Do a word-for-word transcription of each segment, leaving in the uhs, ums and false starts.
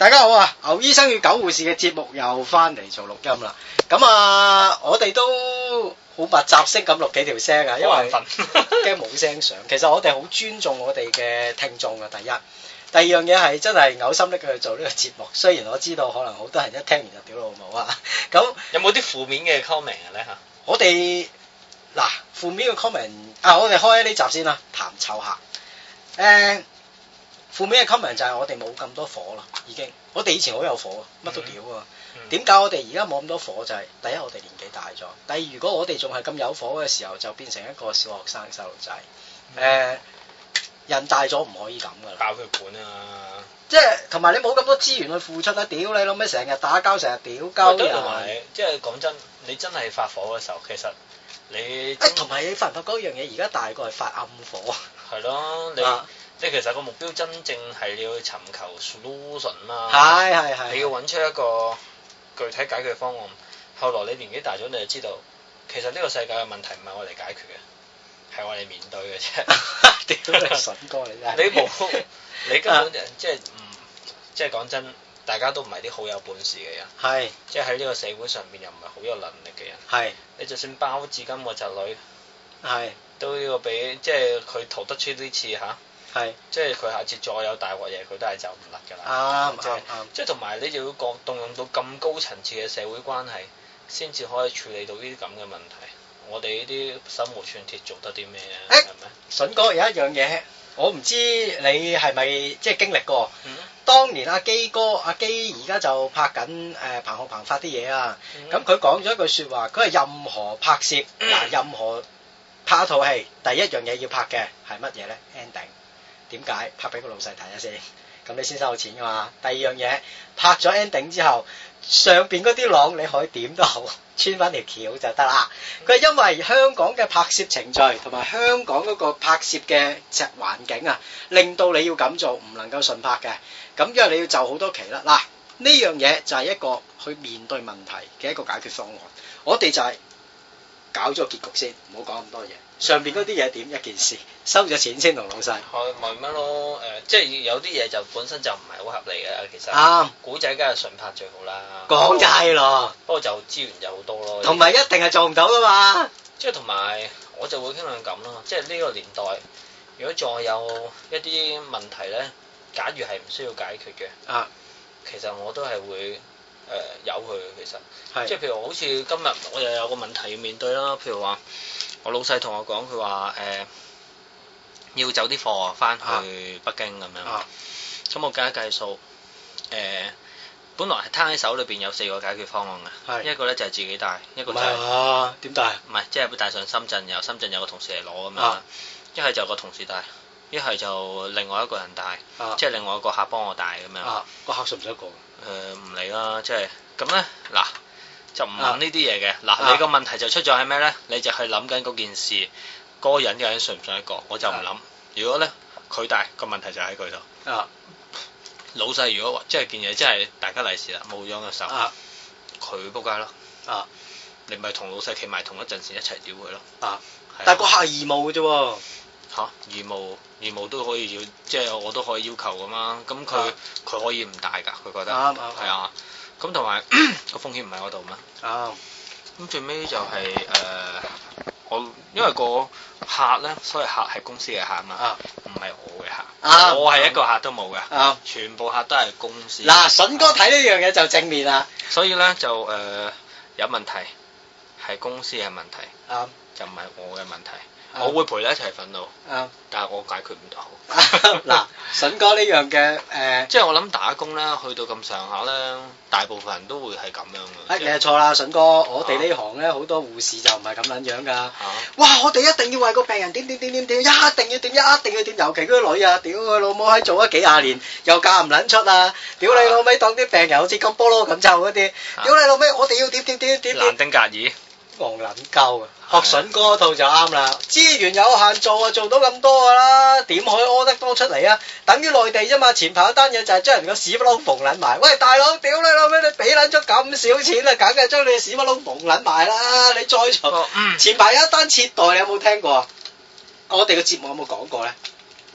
大家好啊！牛醫生與狗護士嘅節目又翻嚟做錄音啦。咁啊，我哋都好密集式咁錄幾條聲啊，因為驚冇聲上。其實我哋好尊重我哋嘅聽眾啊。第一，第二樣嘢係真係嘔心瀝血去做呢個節目。雖然我知道可能好多人一聽完就屌老母啊。咁有冇啲負面嘅 comment 嘅咧嚇？ 我哋嗱負面嘅 comment 啊，我哋開呢集先啦，談湊客。誒、呃。負面嘅 comment 就係我哋冇咁多火啦，已經。我哋以前好有火，乜都屌啊。點解、嗯、我哋而家冇咁多火？就係、是、第一，我哋年紀大咗；第二，如果我哋仲係咁有火嘅時候，就變成一個小學生細路仔。誒、嗯呃，人大咗唔可以咁噶啦。爆血管啊！即係同埋你冇咁多資源去付出啦，屌你老味，成日打交，成日屌交人。同埋即係講真，你真係發火嘅時候，其實你誒同埋你發唔發覺一樣嘢？而家大個係發暗火。 係咯，你。啊即係其實個目標真正係你要尋求 solution 啦， 係係係， 你要揾出一個具體解決方案。後來你年紀大咗，你就知道其實呢個世界嘅問題唔係我哋解決嘅，係我哋面對嘅啫。屌你筍哥你真係，你冇你根本就即係唔即係講真，大家都唔係啲好有本事嘅人，係即係喺呢個社會上面又唔係好有能力嘅人，係你就算包子金個侄女，係都要俾即係佢逃得出呢次嚇。係，即係佢下次再有大鑊嘢，佢都係走唔甩㗎啦。啱啱啱，即係同埋你就要講動用到咁高層次嘅社會關係，先至可以處理到呢啲咁嘅問題。我哋呢啲手無寸鐵做得啲咩啊？係咪？筍哥有一樣嘢，我唔知你係咪即係經歷過。嗯。當年阿基哥，阿基而家就拍緊誒彭浩鵬發啲嘢啊。咁佢講咗一句説話，佢係任何拍攝嗱，任何拍一套戲，第一樣嘢要拍嘅係乜嘢咧 ？ending。點解拍俾個老細睇下先，咁你先收到錢噶嘛？第二樣嘢拍咗 ending 之後，上邊嗰啲廊你可以點都好，穿翻條橋就得啦。佢係因為香港嘅拍攝程序同埋香港嗰個拍攝嘅隻環境啊，令到你要咁做唔能夠順拍嘅。咁因為你要就好多期啦。嗱，呢樣嘢就係一個去面對問題嘅一個解決方案。我哋就係搞咗個結局先，唔好講咁多嘢。上邊嗰啲嘢點一件事，收咗錢先同老細。係咪乜咯？誒、呃，即係有啲嘢就本身就唔係好合理嘅，其實。啱。古仔梗係順拍最好啦。講就係咯。不過就資源就好多咯。同埋一定係做唔到噶嘛。即係同埋我就會傾向咁咯，即係呢個年代，如果再有一啲問題咧，假如係唔需要解決嘅，啊，其實我都係會誒由佢其實。係。即係譬如好似今日我又有個問題要面對啦，譬如話。我老細同我講，佢話誒要走啲貨翻去北京咁樣，咁、啊、我計一計數，誒、呃、本來係攤喺手裏邊有四個解決方案嘅，是一個咧就係自己帶，一個就係點帶？唔係即係帶上深圳，由深圳有個同事嚟攞咁樣，一係、啊、就個同事帶，一係就另外一個人帶，啊、即係另外一個客幫我帶咁樣。啊、個客信唔信得過？誒唔理啦，即係咁咧嗱。就唔問呢啲嘢嘅，嗱、啊、你個問題就出咗喺咩咧？你就係諗緊嗰件事，嗰、嗰個人究竟信唔信得過？我就唔諗。啊、如果咧佢帶個問題就喺佢度。啊，老細如果即係件嘢，即係大家利是啦，冇咗個手，佢仆街咯。啊，你咪同老細企埋同一陣線一齊屌佢咯。啊，啊但係個客係義務嘅啫喎。嚇、啊，義務義務都可以要，即係我都可以要求噶嘛。咁佢佢可以唔帶㗎，佢覺得。啱啱。係啊。咁同埋個風險唔喺嗰度咩？啊！咁最尾就係、是、誒、呃，我因為個客咧，所謂客係公司嘅客嘛，唔係、啊、我嘅客，啊、我係一個客都冇嘅，啊、全部客都係公司。嗱、啊，筍哥睇呢樣嘢就正面啦。所以咧就誒、呃、有問題係公司嘅問題，啊、就唔係我嘅問題。我會陪你一齊憤怒，嗯、但係我解決唔到。嗱，筍哥呢樣嘅誒，即係我諗打工咧，去到咁上下咧，大部分人都會係咁樣嘅。誒，你係錯啦，筍哥，我哋呢行咧好多護士就唔係咁撚樣㗎。啊、哇！我哋一定要為個病人點點點點點，一定要點，一定要點，尤其嗰啲女啊，屌佢老母喺做咗幾廿年，又嫁唔撚出啊！屌你老味，當啲病人好似金菠蘿咁臭嗰啲，屌你老味，我哋要點點點點點。蘭丁格爾。戇撚鳩啊！學筍哥套就啱啦，資源有限做啊，做到咁多噶啦，點可以屙得多出嚟啊？等於內地啫嘛，前排一單嘢就係將人個屎忽窿縫撚埋。喂，大佬，屌你老味，你俾撚咗咁少錢啊，梗係將你屎忽窿縫撚埋啦！你再做，嗯、前排有一單切袋，你有冇聽過啊？我哋個節目有冇講過咧？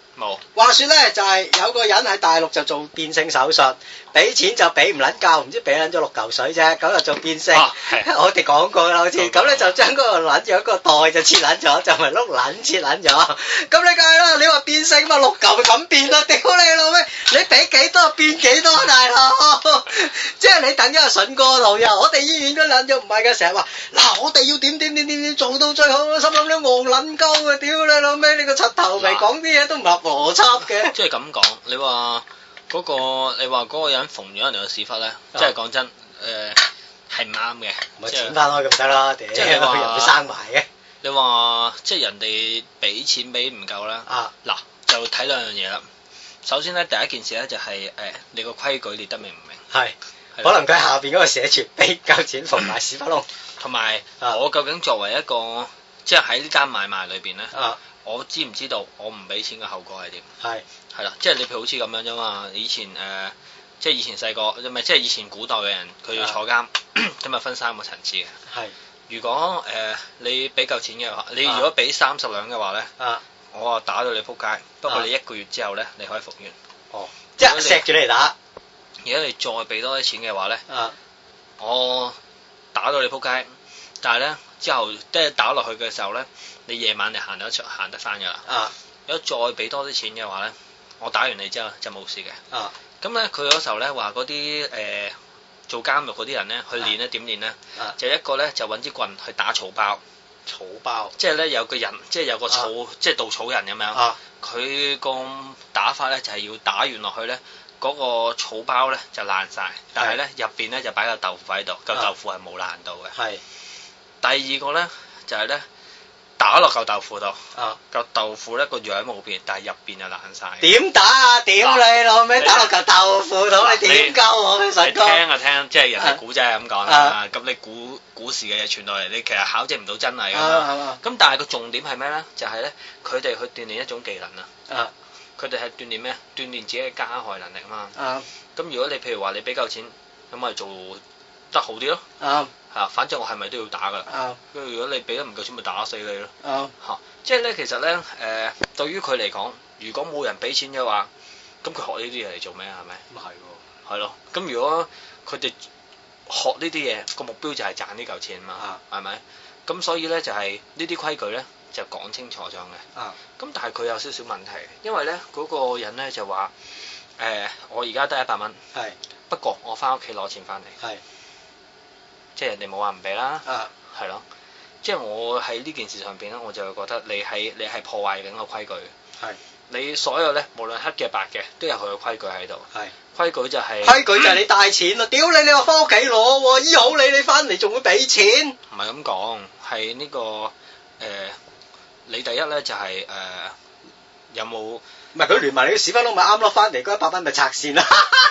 冇。 話說咧，就係、是、有個人喺大陸就做變性手術，俾錢就俾唔撚夠，唔知俾撚咗六嚿水啫，咁就做變性。啊、我哋講過啦，好似咁咧就將嗰個撚樣個袋就切撚咗，就咪碌撚切撚咗。咁你梗係啦，你話變性嘛，六嚿咁變啦，屌你老味，你俾幾多變幾多大佬？即係你等咗阿筍哥度又，我哋醫院嗰撚樣唔係嘅，成日話嗱我哋要點點點點點做到最好，心諗你戇撚鳩啊，屌你老味，你個柒頭皮講啲嘢都唔合邏輯嘅。 即係咁講，你話嗰、嗰個，你話嗰個人縫咗人哋個屎忽咧，啊、即係講真，誒係唔啱嘅。 咪剪翻開咁得啦，屌！即係你話人哋生埋嘅。你話即係人哋俾錢俾唔夠啦。啊！嗱，就睇兩樣嘢啦。首先咧，第一件事咧就係、是、誒、呃，你個規矩列得明唔明？係。 可能佢下邊嗰個寫住俾夠錢縫埋屎忽窿。同埋我究竟作為一個，即係喺呢間買賣裏邊咧。啊。我知唔知道我唔俾錢嘅後果係點？係係啦，即係你譬如好似咁樣啫嘛。以前誒、呃，即係以前細個，唔係即係以前古代嘅人，佢要坐監，咁啊分三個層次嘅。係是如果誒、呃、你俾夠錢嘅話，你如果俾三十兩嘅話咧，啊、我啊打到你仆街。不過你一個月之後咧，你可以復原。哦， 即係錫住你嚟打。 如果你再俾多啲錢嘅話咧，啊、我打到你仆街，但係咧之後即係打落去嘅時候咧。你夜晚你行得出行得翻噶啦，啊、如果再俾多啲錢嘅話咧，我打完你之後就冇事嘅。啊，咁咧佢嗰時候咧話嗰啲誒做監獄嗰啲人咧去練咧點練咧？啊，就一個咧就揾支棍去打草包，草包，即係咧有個人，即係有個草，啊、即係稻草人咁樣。啊，佢個打法咧就係、是、要打完落去咧，嗰、那個草包咧就爛晒，但係咧入邊咧就擺個豆腐喺度，嚿豆腐係冇爛到嘅。係、啊，第二個咧就係、是、咧。打落嚿豆腐度，嚿、啊、豆腐咧個樣冇變，但係入邊就爛晒。點打啊？屌你老味！打落嚿豆腐度，啊、你點鳩我嘅神哥？你聽啊聽，即係人哋古仔係咁講啦。咁、啊、你古古時嘅嘢傳落嚟，你其實考證唔到真係㗎嘛。咁、啊、但係個重點係咩咧？就係、是、咧，佢哋去鍛鍊一種技能啊。佢哋係鍛鍊咩？鍛鍊自己嘅加害能力啊嘛。咁、啊、如果你譬如話你俾夠錢，咁咪做得好啲咯。啊嚇，反正我係咪都要打噶啦？啊，跟住如果你俾得唔夠錢，咪打死你咯。啊，嚇，即係咧，其實咧，誒、呃，對於佢嚟講，如果冇人俾錢嘅話，咁佢學呢啲嘢嚟做咩啊？係咪？咁係喎。係咯，咁如果佢哋學呢啲嘢，個目標就係賺呢嚿錢啊嘛，係咪？咁所以咧就係、是、呢啲規矩咧就講清楚咗嘅。啊，咁但係佢有少少問題，因為咧嗰、那個人咧就話，誒、呃，我而家得一百蚊，係是，不過我翻屋企攞錢翻嚟，係。即係人哋冇話唔俾啦，係咯、啊，即係我喺呢件事上邊咧，我就會覺得你係你係破壞緊個規矩，係是你所有咧，無論黑嘅白嘅，都有佢嘅規矩喺度，係是規矩就係、是、規矩就係你帶錢咯，屌、嗯、你你話翻屋企攞，醫好你你翻嚟仲會俾錢，唔係咁講，係呢、這個誒、呃，你第一咧就係、是、誒、呃、有冇唔係佢聯埋你啲屎忽窿咪啱咯，翻嚟嗰一百蚊咪拆線啦。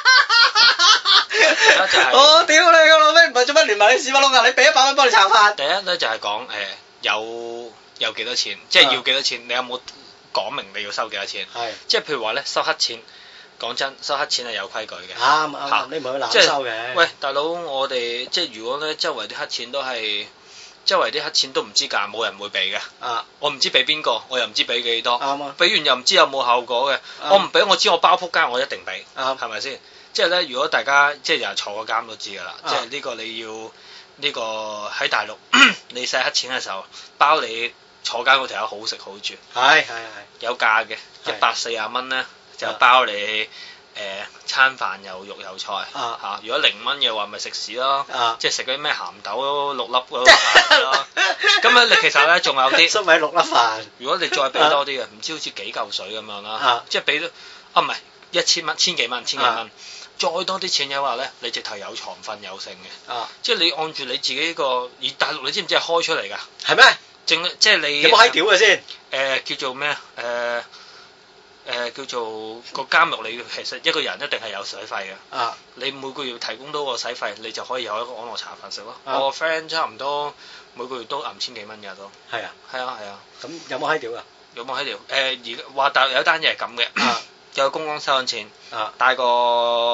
我屌你個老味，唔係做乜連埋你屎忽窿啊！你俾一百蚊幫你炒飯。第一咧就係講誒有有幾多錢，即係要幾多錢，你有冇講明你要收幾多錢？係，即係譬如話咧收黑錢，講真收黑錢係有規矩嘅。啱啱，你唔係去濫收嘅。喂，大佬，我哋即係如果咧周圍啲黑錢都係周圍啲黑錢都唔知價，冇人會俾嘅。啊，我唔知俾邊個，我又唔知俾幾多。啱啊。俾完又唔知有冇後果嘅。我唔俾，我知我包撲街，我一定俾。啱，係咪先？即係咧，如果大家即係有人坐過監都知㗎啦，啊、即係呢個你要呢、呢個喺大陸你使黑錢嘅時候，包你坐監嗰條友好食好住，係係係有價嘅，一百四十蚊咧就包你誒、呃、餐飯有肉有菜嚇、啊啊，如果零蚊嘅話咪食屎咯，啊、即係食嗰啲咩鹹豆六粒嗰啲飯咯，咁樣你其實咧仲有啲粟米六粒飯，如果你再俾多啲嘅，唔知好似幾嚿水咁樣啦，啊、即係俾咗啊唔係一千蚊千幾蚊千幾蚊。啊再多啲錢嘅話咧，你直頭有床瞓有剩嘅，啊、即係你按住你自己個，而大陸你知唔知係開出嚟㗎？係咩嗎？正即係你有冇閪屌嘅先？誒、呃、叫做咩啊？誒、呃、誒、呃、叫做個監獄，你其實一個人一定係有水費嘅。啊！你每個月提供到個洗費，你就可以有一個安樂茶飯食咯。啊、我個 friend 差唔多每個月都揞千幾蚊㗎都。係啊！係啊係啊！咁、啊、有冇閪屌㗎？有冇閪屌？誒而話大陸有單嘢係咁嘅。啊有公安收緊錢，啊、帶個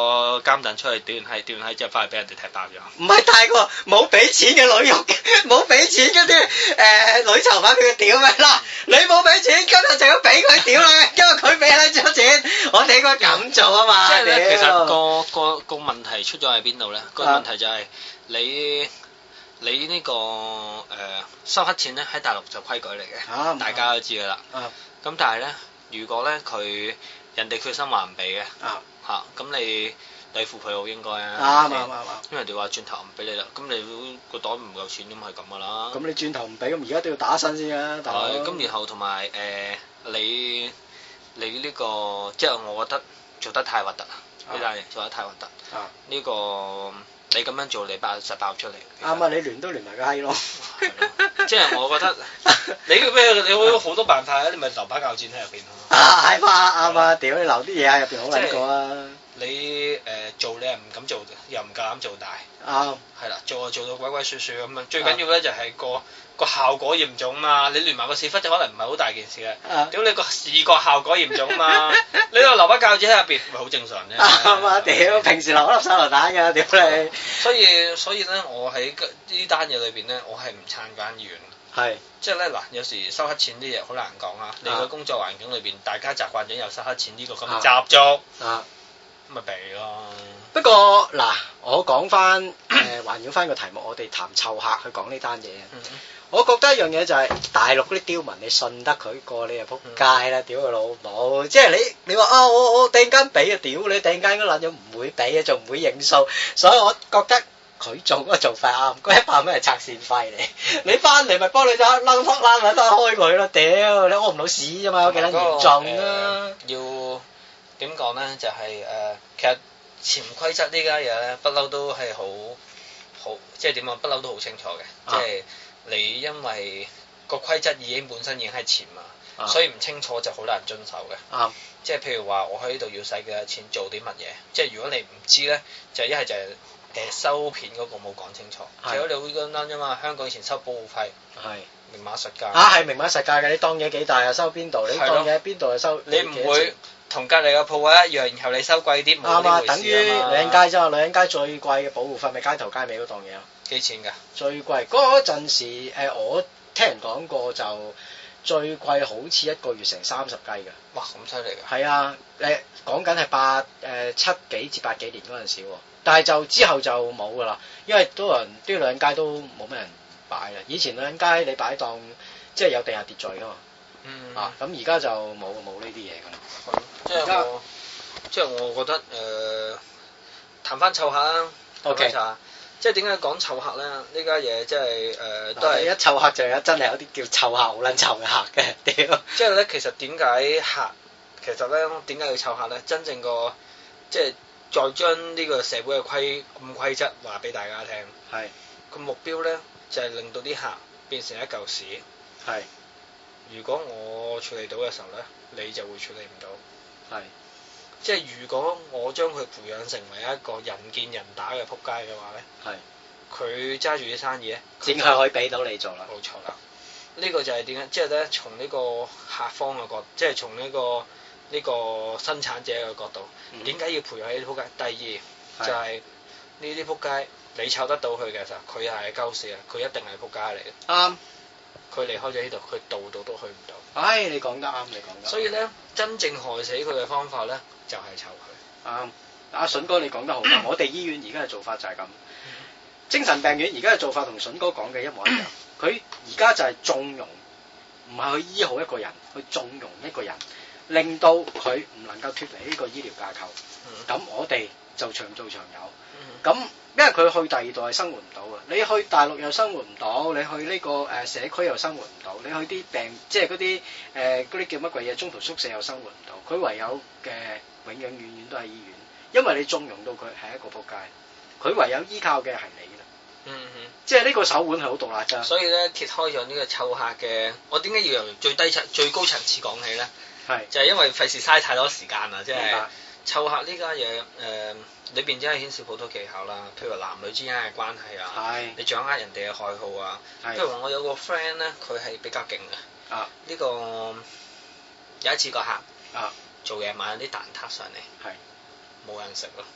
監躉出去屌完閪，屌完閪之後翻去俾人哋踢爆咗。 唔係大個冇俾錢嘅女獄，冇俾錢嗰啲誒女囚犯俾佢屌咩啦？你冇俾錢，今日就要俾佢屌啦，因為佢俾你咗錢，我哋應該咁做啊嘛。 即係咧，其實個個個問題出咗喺邊度咧？個問題就係你。你呢、這個誒、呃、收黑錢咧喺大陸就規矩嚟嘅，啊、大家都知噶啦。咁、啊、但係咧，如果咧佢人哋決心話唔俾嘅，嚇咁、啊啊、你對付佢好應該啊。啱啱啱因為人哋話轉頭唔俾你啦，咁你個袋唔夠錢咁係咁噶啦。咁你轉頭唔俾，咁而家都要打身先啊。係，咁然後同埋誒你你呢、這個即係我覺得做得太核突啦，呢單嘢做得太核突。呢、啊這個。你咁樣做，你爆實爆出嚟。啱啊！你亂都亂埋個閪咯。即係我覺得你咩？你會好多辦法啊！你咪留把鉸剪喺入邊咯。啊係嘛啱啊！屌你留啲嘢喺入邊好撚過啊！你誒做你又唔敢做，又唔夠膽做大。啱。係啦，做就做到鬼鬼祟祟咁樣。最緊要咧就係個個效果嚴重嘛。你亂埋個屎忽就可能唔係好大件事嘅。屌你個視覺效果嚴重嘛！你話留把鉸剪喺入邊，咪好正常啫。啱啊！屌，平時留粒手榴彈㗎，屌你！所以所以咧，我喺呢單嘢裏邊咧，我係唔撐嗰間醫院。係。即係咧嗱，有時收黑錢啲嘢好難講啊。你個工作環境裏邊，大家習慣咗有收黑錢呢個咁嘅習俗。啊。咁咪避咯。不過嗱，我講翻誒，環繞翻個題目，我哋談湊客去講呢單嘢。嗯。我覺得一樣嘢就係大陸嗰啲刁民，你信得佢過，你就撲街啦！屌佢老母，即係你你話啊，我我突然間俾啊，屌你突然間嗰撚樣唔會俾啊，仲唔會認數，所以我覺得佢做嗰個做法啱，嗰一百蚊係拆線費嚟，你翻嚟咪幫你就擸撲擸咪得開佢咯，屌你屙唔到屎啫嘛，有幾撚嚴重啊？要點講咧？就係誒，其實潛規則呢家嘢咧，不嬲都係好好，即係點講？不嬲都好清楚嘅，即係。你因為個規則已經本身已經係潛嘛，啊、所以唔清楚就好難遵守嘅。啊、即係譬如話，我喺呢度要使幾多錢做啲乜嘢？即係如果你唔知咧，就一係就係誒收片嗰個冇講清楚。其實是你好簡單啫嘛，香港以前收保護費係明碼實價。啊，係明碼實價嘅，你當嘢幾大啊？收邊度？你當嘢喺邊度啊？收你唔會同隔離個鋪位一樣，然後你收貴啲，冇呢回事啊嘛。等於女人街啫嘛，女人街最貴嘅保護費咪街頭街尾嗰檔嘢咯。幾錢㗎？最貴嗰陣時，誒、呃、我聽人講過就最貴好似一個月成三十雞㗎。哇！咁犀利㗎？係啊，誒講緊係八誒、呃、七幾至八幾年嗰陣時喎，但係就之後就冇㗎啦，因為多人啲女人街都冇咩人擺啦。以前女人街你擺檔即係有地下秩序㗎嘛。嗯。啊，咁而家就冇冇呢啲嘢㗎啦。即係我即係我覺得誒、呃、談翻湊客啊。O K。即係點解講湊客咧？呢家嘢即係誒都係一湊客就有真係有啲叫湊客好撚湊嘅客嘅，屌！即係咧，其實點解客其實咧點解要湊客咧？真正個即係再將呢個社會嘅規咁規則話俾大家聽。係個目標咧就係令到啲客變成一嚿屎。係如果我處理到嘅時候咧，你就會處理唔到。係即係如果我將佢培養成為一個人見人打嘅仆街嘅話咧，係佢揸住啲生意咧，點係可以俾到你做啦？冇錯啦，呢個就係點解？即係咧，從呢個客方嘅角度，即係從呢個呢個生產者嘅角度，點解要培養呢啲仆街？第二就係呢啲仆街，你湊得到佢嘅時候，佢又係鳩屎啊！佢一定係仆街嚟嘅。啱。佢離開咗呢度，佢度度都去唔到。唉，你講得啱，你講得。所以咧，真正害死佢嘅方法咧，就係湊佢。啱，阿筍哥你講得好啱。我哋醫院而家嘅做法就係咁。精神病院而家嘅做法同筍哥講嘅一模一樣。佢而家就係縱容，唔係去醫好一個人，去縱容一個人，令到佢唔能夠脫離呢個醫療架構。咁我哋就長做長有。咁因為佢去第二度係生活唔到啊！你去大陸又生活唔到，你去呢個誒社區又生活唔到，你去啲病即係嗰啲誒嗰啲叫乜鬼嘢中途宿舍又生活唔到，佢唯有嘅永永遠遠都係醫院，因為你縱容到佢係一個仆街，佢唯有依靠嘅係你啦。嗯哼，即係呢個手腕係好獨立㗎。所以咧揭開咗呢個湊客嘅，我點解要由最低層最高層次講起咧？係是就係因為費事嘥太多時間啊！即係湊客呢家嘢誒。裏邊真係牽涉好多技巧啦，譬如話男女之間嘅關係啊，是你掌握人哋嘅愛好啊，是譬如話我有個 friend 咧，佢係比較勁嘅，呢、啊這個有一次個客啊做嘢買啲蛋撻上嚟，係冇是人食咯，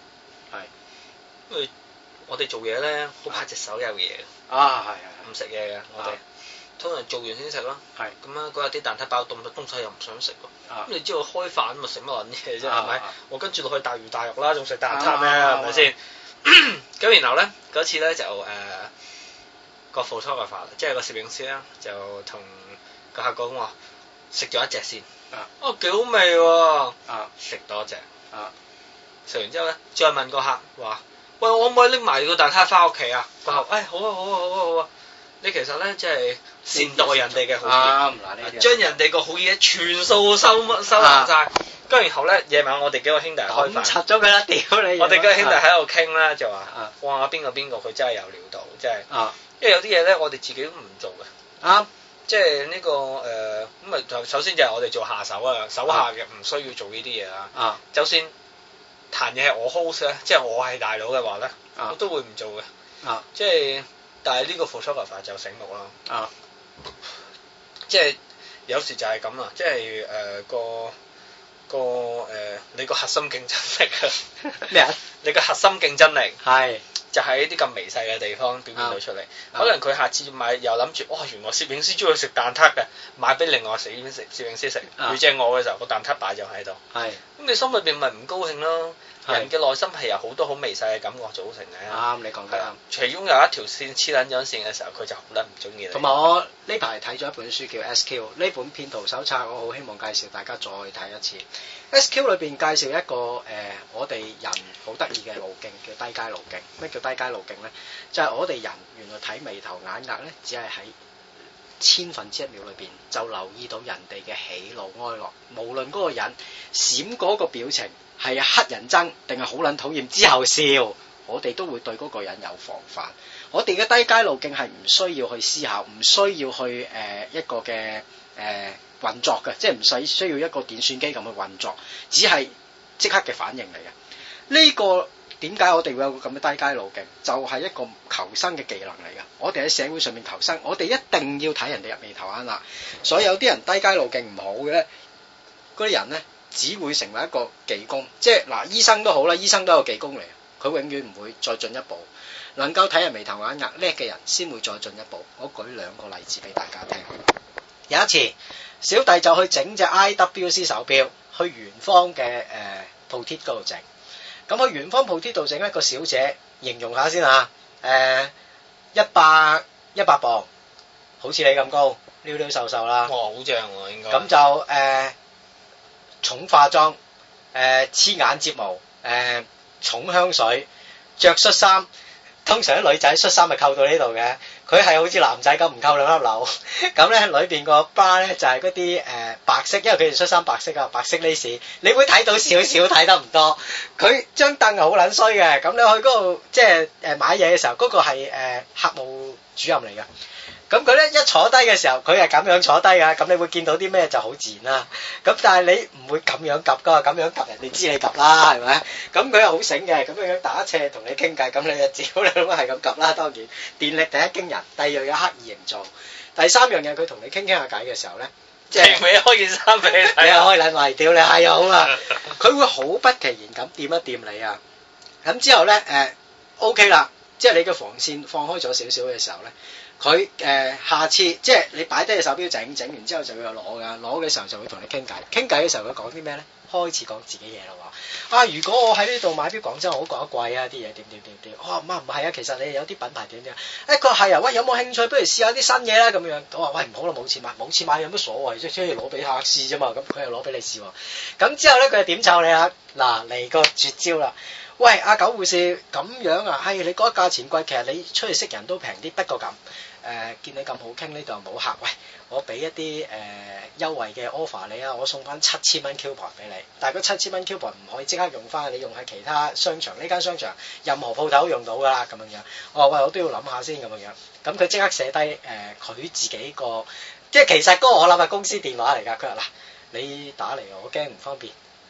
係。 因為我哋做嘢咧，好怕隻手有嘢。 啊係係。 唔食嘢嘅我哋。通常做完先食咯，係咁啊！嗰日啲蛋撻包凍咗，東西又唔想食喎。咁你知道開飯咪食乜撚嘢啫？係咪？我跟住落去大魚大肉啦，仲食蛋撻咩？係咪先？咁然後咧嗰次咧就誒個 photographer 即係個攝影師啦，就同個客講話食咗一隻先。哦，幾好味喎！食多隻。食完之後咧，再問個客話：喂，我可唔可以拎埋個蛋撻翻屋企啊？個客：誒好啊好啊好啊好啊！你其實咧即係善待人哋嘅好嘢，將人哋個好嘢全數收收埋曬。跟住然後咧夜晚我哋幾個兄弟開飯，拆咗佢啦！屌你！我哋幾個兄弟喺度傾啦，就話：哇邊個邊個佢真係有料到，即係，因為有啲嘢咧我哋自己都唔做嘅。啱，即係呢個誒咁啊！就首先就係我哋做下手啊，手下嘅唔需要做呢啲嘢啦。啊，就算彈嘢係我 host 咧，即係我係大佬嘅話咧，我都會唔做嘅。啊，即係。但係呢個 photographer 就醒目啦，啊，即係有時就係咁啦，即係誒、呃、個個誒、呃、你個核心競爭力啊咩啊？你個核心競爭力係就喺啲咁微細嘅地方表現到出嚟，啊、可能佢下次買又諗住，哇、哦、原來攝影師中意食蛋撻嘅，買俾另外攝影師攝影師食，遇正我嘅時候個蛋撻擺就喺度，係咁你心裏邊咪唔高興咯。人嘅內心係由好多好微細嘅感覺組成嘅。啱，你講得啱。其中有一條線黐撚咗線嘅時候，佢就好撚唔中意你。同埋我呢排睇咗一本書叫 S Q， 呢本騙徒手冊，我好希望介紹大家再睇一次。S Q 裏邊介紹一個誒、呃，我哋人好得意嘅路徑叫低階路徑。咩叫低階路徑咧？就係、是、我哋人原來睇眉頭眼額咧，只係喺千分之一秒裏邊就留意到人哋嘅喜怒哀樂，無論嗰個人閃嗰個表情係黑人憎定係好撚討厭之後笑，我哋都會對嗰個人有防範。我哋嘅低階路徑係唔需要去思考，唔需要去誒、呃、一個嘅誒、呃、運作嘅，即係唔使需要一個電算機咁去運作，只係即刻嘅反應嚟嘅。呢、這個點解我哋會有個咁嘅低階路徑？就係、是、一個求生嘅技能嚟㗎。我哋喺社會上面求生，我哋一定要睇人哋入眉頭眼額。所以有啲人低階路徑唔好嘅咧，嗰啲人咧只會成為一個技工。即係嗱，醫生都好啦，醫生都係個技工嚟，佢永遠唔會再進一步。能夠睇人眉頭眼額叻嘅人，先會再進一步。我舉兩個例子俾大家聽。有一次，小弟就去整隻 I W C 手錶，去元芳嘅誒鋪貼嗰度整。咁去元芳鋪貼度整一個小姐，形容下先啊，誒一百一百磅，好似你咁高，溜溜瘦瘦啦。哇，好正喎，應該。咁就誒、呃、重化妝，誒、呃、黐眼睫毛，誒、呃、重香水，着恤衫。通常啲女仔恤衫咪扣到呢度嘅，佢係好似男仔咁唔扣兩粒紐。咁咧裏邊個 bra 咧就係嗰啲誒白色，因為佢哋恤衫白色啊，白色 lace，你會睇到少少，睇得唔多。佢張凳係好撚衰嘅，咁你去嗰度即係誒買嘢嘅時候，嗰、嗰個係誒客務主任嚟嘅。咁佢咧一坐低嘅時候，佢係咁樣坐低㗎，咁你會見到啲咩就好自然啦。咁但係你唔會咁樣及㗎，咁樣及人哋知你及啦，係咪？咁佢又好醒嘅，咁樣樣打斜同你傾偈，咁你就照你咁係咁及啦。當然，電力第一驚人，第二樣嘢刻意營造，第三樣嘢佢同你傾傾下偈嘅時候咧，即係未開件衫俾你睇，你開撚埋屌你係好啊！佢會好不其然咁掂一掂你啊！咁之後咧誒 OK 啦，即係你嘅防線放開咗少少嘅時候咧。佢誒、呃、下次即係你擺低隻手錶整整完之後就要攞㗎，攞嘅時候就會同你傾偈，傾偈嘅時候佢講啲咩咧？開始講自己嘢啦喎！啊，如果我喺呢度買錶，講真我好覺得貴啊，啲嘢點點點點。哦，唔係啊，其實你有啲品牌點點。誒，佢話係啊，喂，有冇興趣？不如試下啲新嘢啦咁樣。我話喂，唔好啦，冇錢買，冇錢買有乜所謂啫？即係攞俾客試啫嘛。咁佢又攞俾你試喎。咁之後咧，佢就點湊你啊？嗱，嚟個絕招啦！喂，阿九護士咁樣啊？係、哎、你覺得價錢貴，其實你出去識人都平啲，不過咁。誒、呃、見你咁好傾呢度冇客，喂，我俾一啲誒、呃、優惠嘅 offer 你啊，我送翻七千蚊 coupon 俾你，但係嗰七千蚊 coupon 唔可以即刻用翻，你用喺其他商場，呢間商場任何鋪頭都用到噶啦，咁樣樣。我話喂，我都要諗下先咁樣樣，咁佢即刻寫低誒佢自己個，即係其實嗰個我諗係公司電話嚟㗎，佢話嗱，你打嚟我驚唔方便。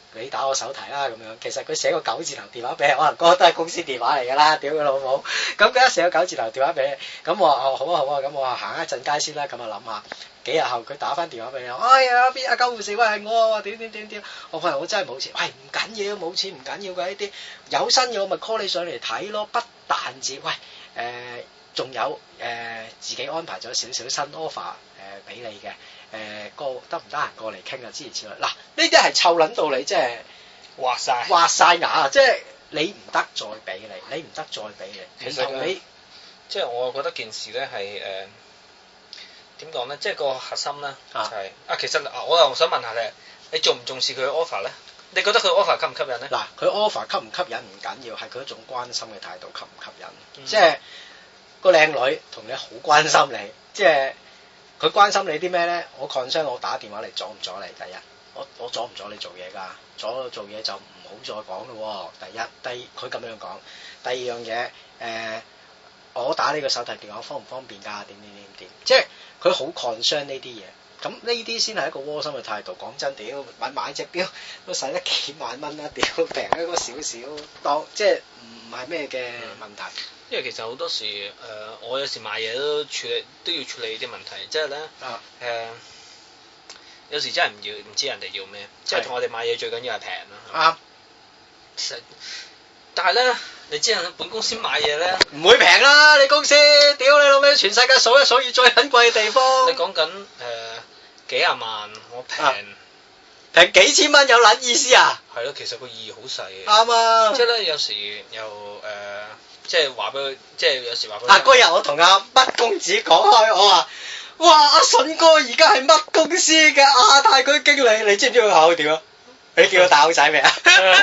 你打我手提啦咁樣。其實佢寫個九字頭電話俾你，可能嗰個都係公司電話嚟㗎啦，屌佢老母！咁佢一寫個九字頭電話俾你，咁我話哦好啊好啊，咁我話行一陣街先啦，咁啊諗下。幾日後佢打翻電話俾你，哎呀邊阿救護士，喂係我啊，點點點點，我話我真係冇錢，喂唔緊要冇錢唔緊要嘅呢啲，有新嘢我咪 call 你上嚟睇咯，不但止，喂誒仲有誒自己安排咗少少新 offer 誒俾你嘅，誒個得唔得閒過嚟傾啊諸如此類，嗱呢啲係湊撚到你即係畫晒畫晒牙，即係你唔得再俾你，你唔得再俾你，其實你即係我覺得件事咧係誒。點講咧？即係個核心咧，就係、是、啊，其實啊，我又想問下你，你重唔重視佢嘅 offer 咧？你覺得佢 offer 吸唔吸引咧？ 嗱，佢 offer 吸唔吸引唔緊要，係佢一種關心嘅態度吸唔吸引。嗯、即係個靚女同你好關心你，即係佢關心你啲咩咧？我 concern 我打電話嚟阻唔阻你？第一，我我阻唔阻你做嘢㗎？阻做嘢就唔好再講咯。第一，第二佢咁樣講。第二樣嘢，誒、呃，我打呢個手提電話方唔方便㗎？點點點點，即係。佢好 concern 呢啲嘢，咁呢啲先係一個窩心嘅態度。講真，屌買買隻錶都使得幾萬蚊啦，屌平一個少少，當即係唔係咩嘅問題。 因為其實好多時誒、呃，我有時買嘢都處理都要處理啲問題，即係咧誒，有時真係唔要唔知人哋要咩，即係同我哋買嘢最緊要係平啦。啱。但係咧，你知人本公司買嘢咧， 唔會平啦！你公司，屌你老味，全世界數一數二最撚貴嘅地方。 你講緊誒幾廿萬，我平平、啊、幾千蚊有撚意思啊？ 係咯，其實個意義好細嘅。 啱啊！ 即係咧，有時又誒、呃，即係話俾佢，即係有時話俾佢。 啊！嗰日我同阿乜公子講開，我話：哇！阿筍哥而家係乜公司嘅亞太區經理，你知唔知佢口點啊？你叫佢戴口仔未啊？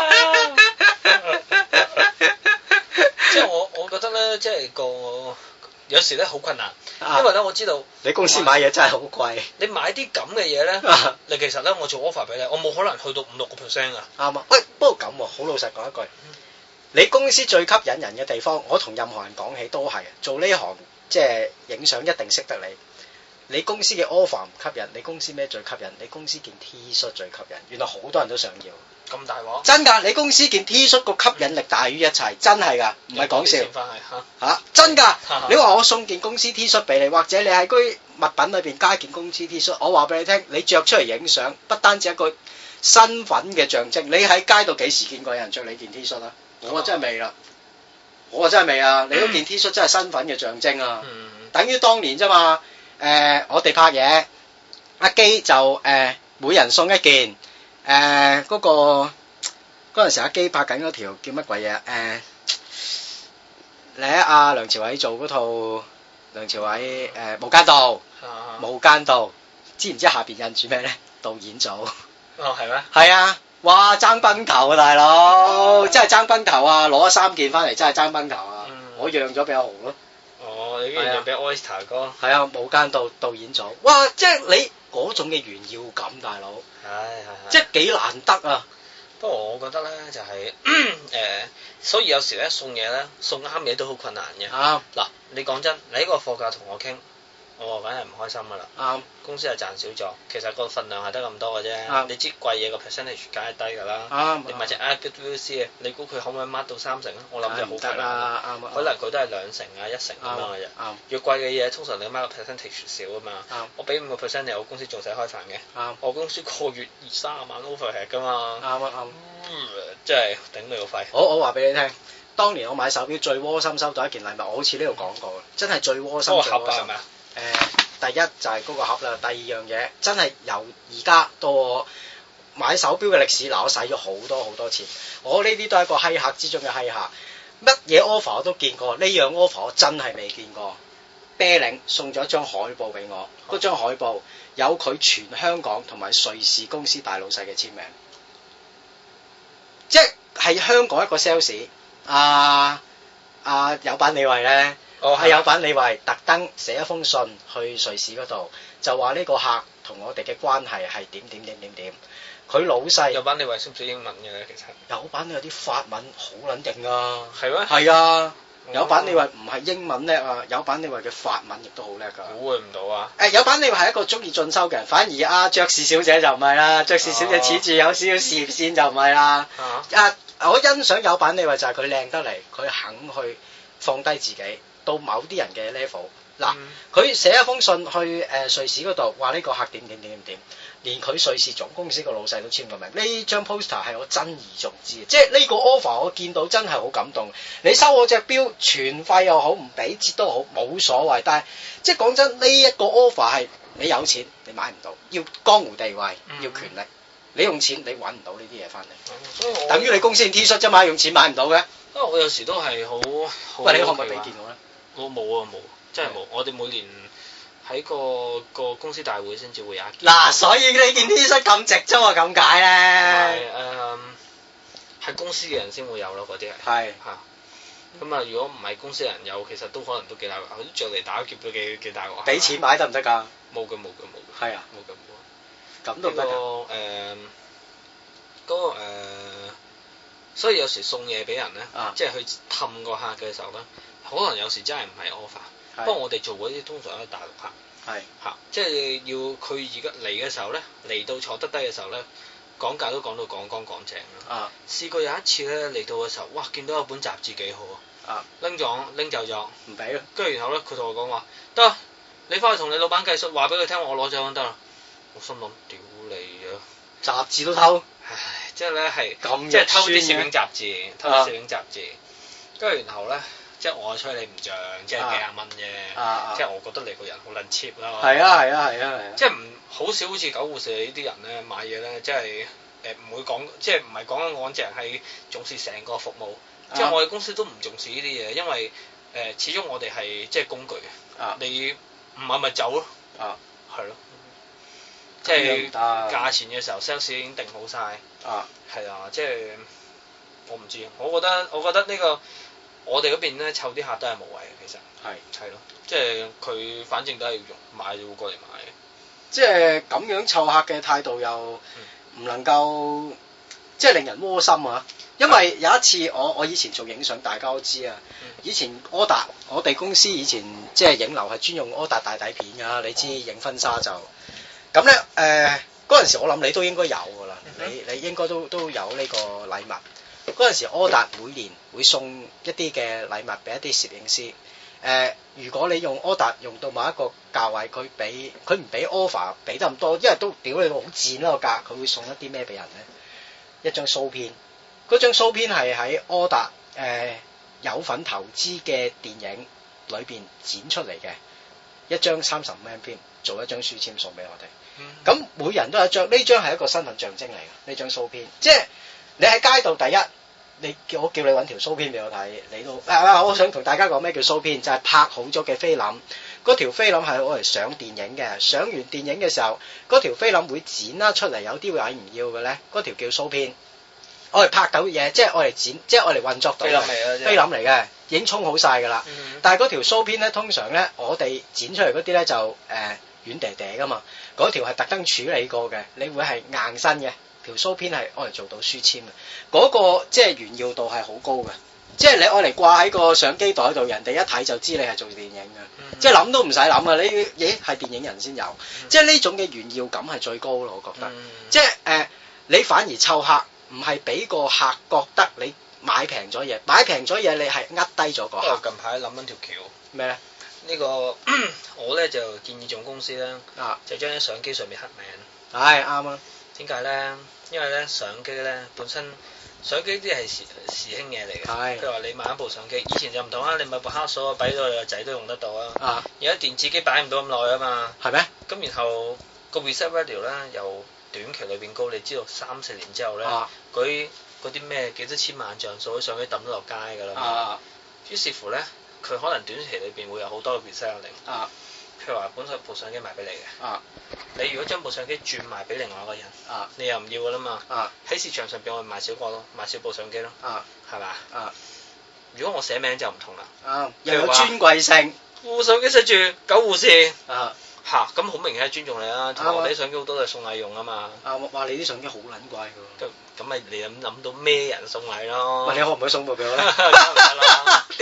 即係我，我覺得咧，即係個有時咧好困難，因為咧我知道你公司買嘢真係好貴。 你買啲咁嘅嘢咧，你其實咧我做 offer 俾你，我冇可能去到五六個 percent 噶。啱啊！ 喂，不過咁喎，好老實講一句，你公司最吸引人嘅地方，我同任何人講起都係做呢行，即係影相一定識得你。你公司嘅 offer 唔吸引，你公司咩最吸引？你公司件 T 恤最吸引，原來好多人都想要。 咁大鑊？真㗎，你公司件 T 恤個吸引力大於一切，真係㗎，唔係講笑。嚇、啊、真㗎！你話我送件公司 T 恤俾你，或者你喺嗰啲物品裏邊加件公司 T 恤，我話俾你聽，你着出嚟影相，不單止一個身份嘅象徵。你喺街度幾時見過有人着你件 T 恤啊？我真係未啦，我真係未啊！你嗰件 T 恤真係身份嘅象徵啊，嗯、等於當年啫嘛。誒、呃，我哋拍嘢，阿基就誒、呃、每人送一件，誒、呃、嗰、那個嗰陣時阿基拍緊嗰條叫乜鬼嘢？誒、呃，你喺阿梁朝偉做嗰套梁朝偉誒、呃、無間道，啊、無間道，知唔知下邊印住咩咧？導演組。 哦，係咩？ 係啊，哇爭崩頭啊大佬，哦、真係爭崩頭啊！攞咗三件翻嚟，真係爭崩頭啊！嗯、我讓咗俾阿豪咯。 哦，你竟然讓俾 Oyster 哥？ 係啊，無間道導演組，哇！即係你嗰種嘅炫耀感，大佬， 係係係， 即係幾難得啊！ 不過我覺得咧就係、是、誒、呃，所以有時咧送嘢咧送啱嘢都好困難嘅。啱嗱、啊，你講真，你呢個貨價同我傾，我梗係唔開心噶啦。啱，公司係賺少咗，其實個份量係得咁多嘅啫。啱，你知貴嘢個 percentage 梗係低噶啦。啱，你買隻 iGoodWills 嘅，你估佢可唔可以 mark 到三成啊？我諗就好困難啦。啱，可能佢都係兩成啊、一成咁樣嘅啫。啱，越貴嘅嘢通常你 mark 個 percentage 少啊嘛。啱，我俾五個 percent 你，我公司仲使開飯嘅。啱，我公司個月二三十萬 overhead 噶嘛。啱啊啱。即係頂你個肺。我我話俾你聽，當年我買手錶最窩心收到一件禮物，我好似呢度講過，真係最窩心。嗰個盒係咪啊？誒、呃，第一就係嗰個盒啦，第二樣嘢真係由而家到我買手錶嘅歷史，嗱我使咗好多好多錢，我呢啲都係一個稀客之中嘅稀客，乜嘢 offer 我都見過，呢樣 offer 我真係未見過。啤領送咗一張海報俾我，嗰張海報有佢全香港同埋瑞士公司大老細嘅簽名，即係香港一個 sales 啊啊有版李慧咧。係、哦、有版李慧特登寫一封信去瑞士嗰度，就話呢個客同我哋嘅關係係點點點點點。佢老細有版李慧識唔識英文嘅咧？其實有版有啲法文好撚勁啊。係咩嗎？係啊。 有版你話唔係英文叻啊，有版你話嘅法文亦都好叻㗎。 估佢唔到啊！ 誒有版你話係一個中意進修嘅人，反而阿爵士小姐就唔係啦，爵士小姐似住有少少事業線就唔係啦。啊，我欣賞有版你話就係佢靚得嚟，佢肯去放低自己到某啲人嘅 level。嗱，佢寫一封信去誒瑞士嗰度，話呢個客點點點點點，連佢瑞士總公司個老細都簽個名。呢張 poster 係我珍而重之，即係呢個 offer 我見到真係好感動。你收我隻錶，全費又好，唔俾折都好，冇所謂。但係即係講真，呢一個 offer 係你有錢你買唔到，要江湖地位，要權力，你用錢你揾唔到呢啲嘢翻嚟。所以我等於你公司 T 恤啫嘛，用錢買唔到嘅。 因為我有時都係好， 喂，你可唔可以俾件我咧？ 我冇啊冇。真係冇，我哋每年喺個個公司大會先至會有一件。 嗱，所以呢件 T 恤咁值啫喎，咁解咧。 係誒，係公司嘅人先會有咯，嗰啲係。係。嚇。咁啊，如果唔係公司人有，其實都可能都幾大鑊，佢啲着嚟打劫都幾幾大鑊。俾錢買得唔得㗎？冇嘅冇嘅冇嘅。係啊。冇嘅冇。咁都得㗎。誒，嗰個誒，所以有時送嘢俾人咧，即係去氹個客嘅時候咧，可能有時真係唔係 offer。不過我哋做嗰啲通常都係大陸客，係嚇，即係要佢而家嚟嘅時候咧，嚟到坐得低嘅時候咧，講價都講到講講講正啦。啊，試過有一次咧嚟到嘅時候，哇，見到有本雜誌幾好啊，拎咗拎走咗，唔俾咯。跟住然後咧，佢同我講話得，你翻去同你老闆計數，話俾佢聽我攞走得啦。我心諗屌你啊，雜誌都偷，唉，即係咧係，即係偷啲攝影雜誌，偷啲攝影雜誌，跟住然後咧。即係我吹你唔漲，即係幾廿蚊啫。啊、即係我覺得你個人好撚 cheap 啦。係啊係啊係啊係啊！即係唔好少好似狗護士呢啲人咧買嘢咧，即係誒唔會講，即係唔係講緊我隻係重視成個服務。啊、即係我哋公司都唔重視呢啲嘢，因為誒、呃、始終我哋係即係工具。啊、你唔係咪走咯？啊，係咯。即係價錢嘅時候 sales 已經定好晒。啊，係啊，即係我唔知，我覺得我覺得呢、呢個。我哋嗰邊咧湊啲客都係無謂嘅，其實係係咯，即係佢反正都係要用買就會過嚟買嘅，即係咁樣湊客嘅態度又唔能夠、嗯、即係令人窩心啊！因為有一次我我以前做影相，大家都知啊，嗯、以前柯達我哋公司以前即係影樓係專用柯達大底片㗎，你知影婚紗就咁咧誒嗰陣時我諗你都應該有㗎啦，嗯、你你應該都都有呢個禮物。嗰陣時，柯達每年會送一啲嘅禮物俾一啲攝影師。誒、呃，如果你用柯達用到某一個價位，佢俾佢唔俾 offer 俾得咁多，因為都屌你好賤啦個價，佢會送一啲咩俾人咧？一張蘇片，嗰張蘇片係喺柯達誒、呃、有份投資嘅電影裏邊剪出嚟嘅一張三十五 M 片，做一張書籤送俾我哋。咁、嗯、每人都有一張，呢張係一個身份象徵嚟嘅，呢張蘇片，即係你喺街度第一。你叫我叫你揾條蘇片俾我睇，你都啊！我想同大家講咩叫蘇片，就係、是、拍好咗嘅菲林，嗰條菲林係攞嚟上電影嘅，上完電影嘅時候，嗰條菲林會剪啦出嚟，有啲會係唔要嘅咧，嗰條叫蘇片，我嚟拍到嘢，即係我嚟剪，即係我嚟運作到菲林嚟嘅，菲林嚟嘅，已經沖好晒㗎啦。嗯、但係嗰條蘇片咧，通常咧我哋剪出嚟嗰啲咧就誒軟嗲嗲㗎嘛，嗰條係特登處理過嘅，你會係硬身嘅。條蘇片係愛嚟做到書籤嘅，嗰、那個即係炫耀度係好高嘅，即係你愛嚟掛喺個相機袋度，人哋一睇就知你係做電影嘅，嗯、即係諗都唔使諗啊！你咦係電影人先有，嗯、即係呢種嘅炫耀感係最高咯，我覺得。嗯、即係誒、呃，你反而湊客，唔係俾個客覺得你買平咗嘢，買平咗嘢你係呃低咗個客。我近排諗緊條橋咩咧？呢、這個我咧就建議總公司咧，啊、就將啲相機上面刻名。係啱啊！點解咧？因為咧相機咧本身相機啲係時時興嘢嚟嘅，譬如話你買一部相機，以前就唔同啦，你買部黑數啊，擺到你個仔都用得到啊。而家電子機擺唔到咁耐啊嘛。係咩？咁然後個 reset value 咧由短期裏邊高，你知道三四年之後咧，嗰啲嗰啲咩幾多千萬像素啲相機抌得落街㗎啦。啊。於是乎咧，佢可能短期裏邊會有好多 reset value。啊。譬如話本身部相機賣俾你嘅，啊、你如果將部相機轉賣俾另外一個人，啊、你又唔要噶啦嘛，喺、啊、市場上邊我賣少個咯，賣少部相機咯，係嘛？如果我寫名就唔同啦，啊、又有尊貴性，部相機寫住狗護士，嚇咁好明顯係尊重你啦，同埋我哋啲相機好多都係送禮用啊嘛，啊話你啲相機好撚貴㗎，咁咪你諗諗到咩人送禮咯？喂，你可唔可以送部俾我咧？梗係唔得啦，屌！因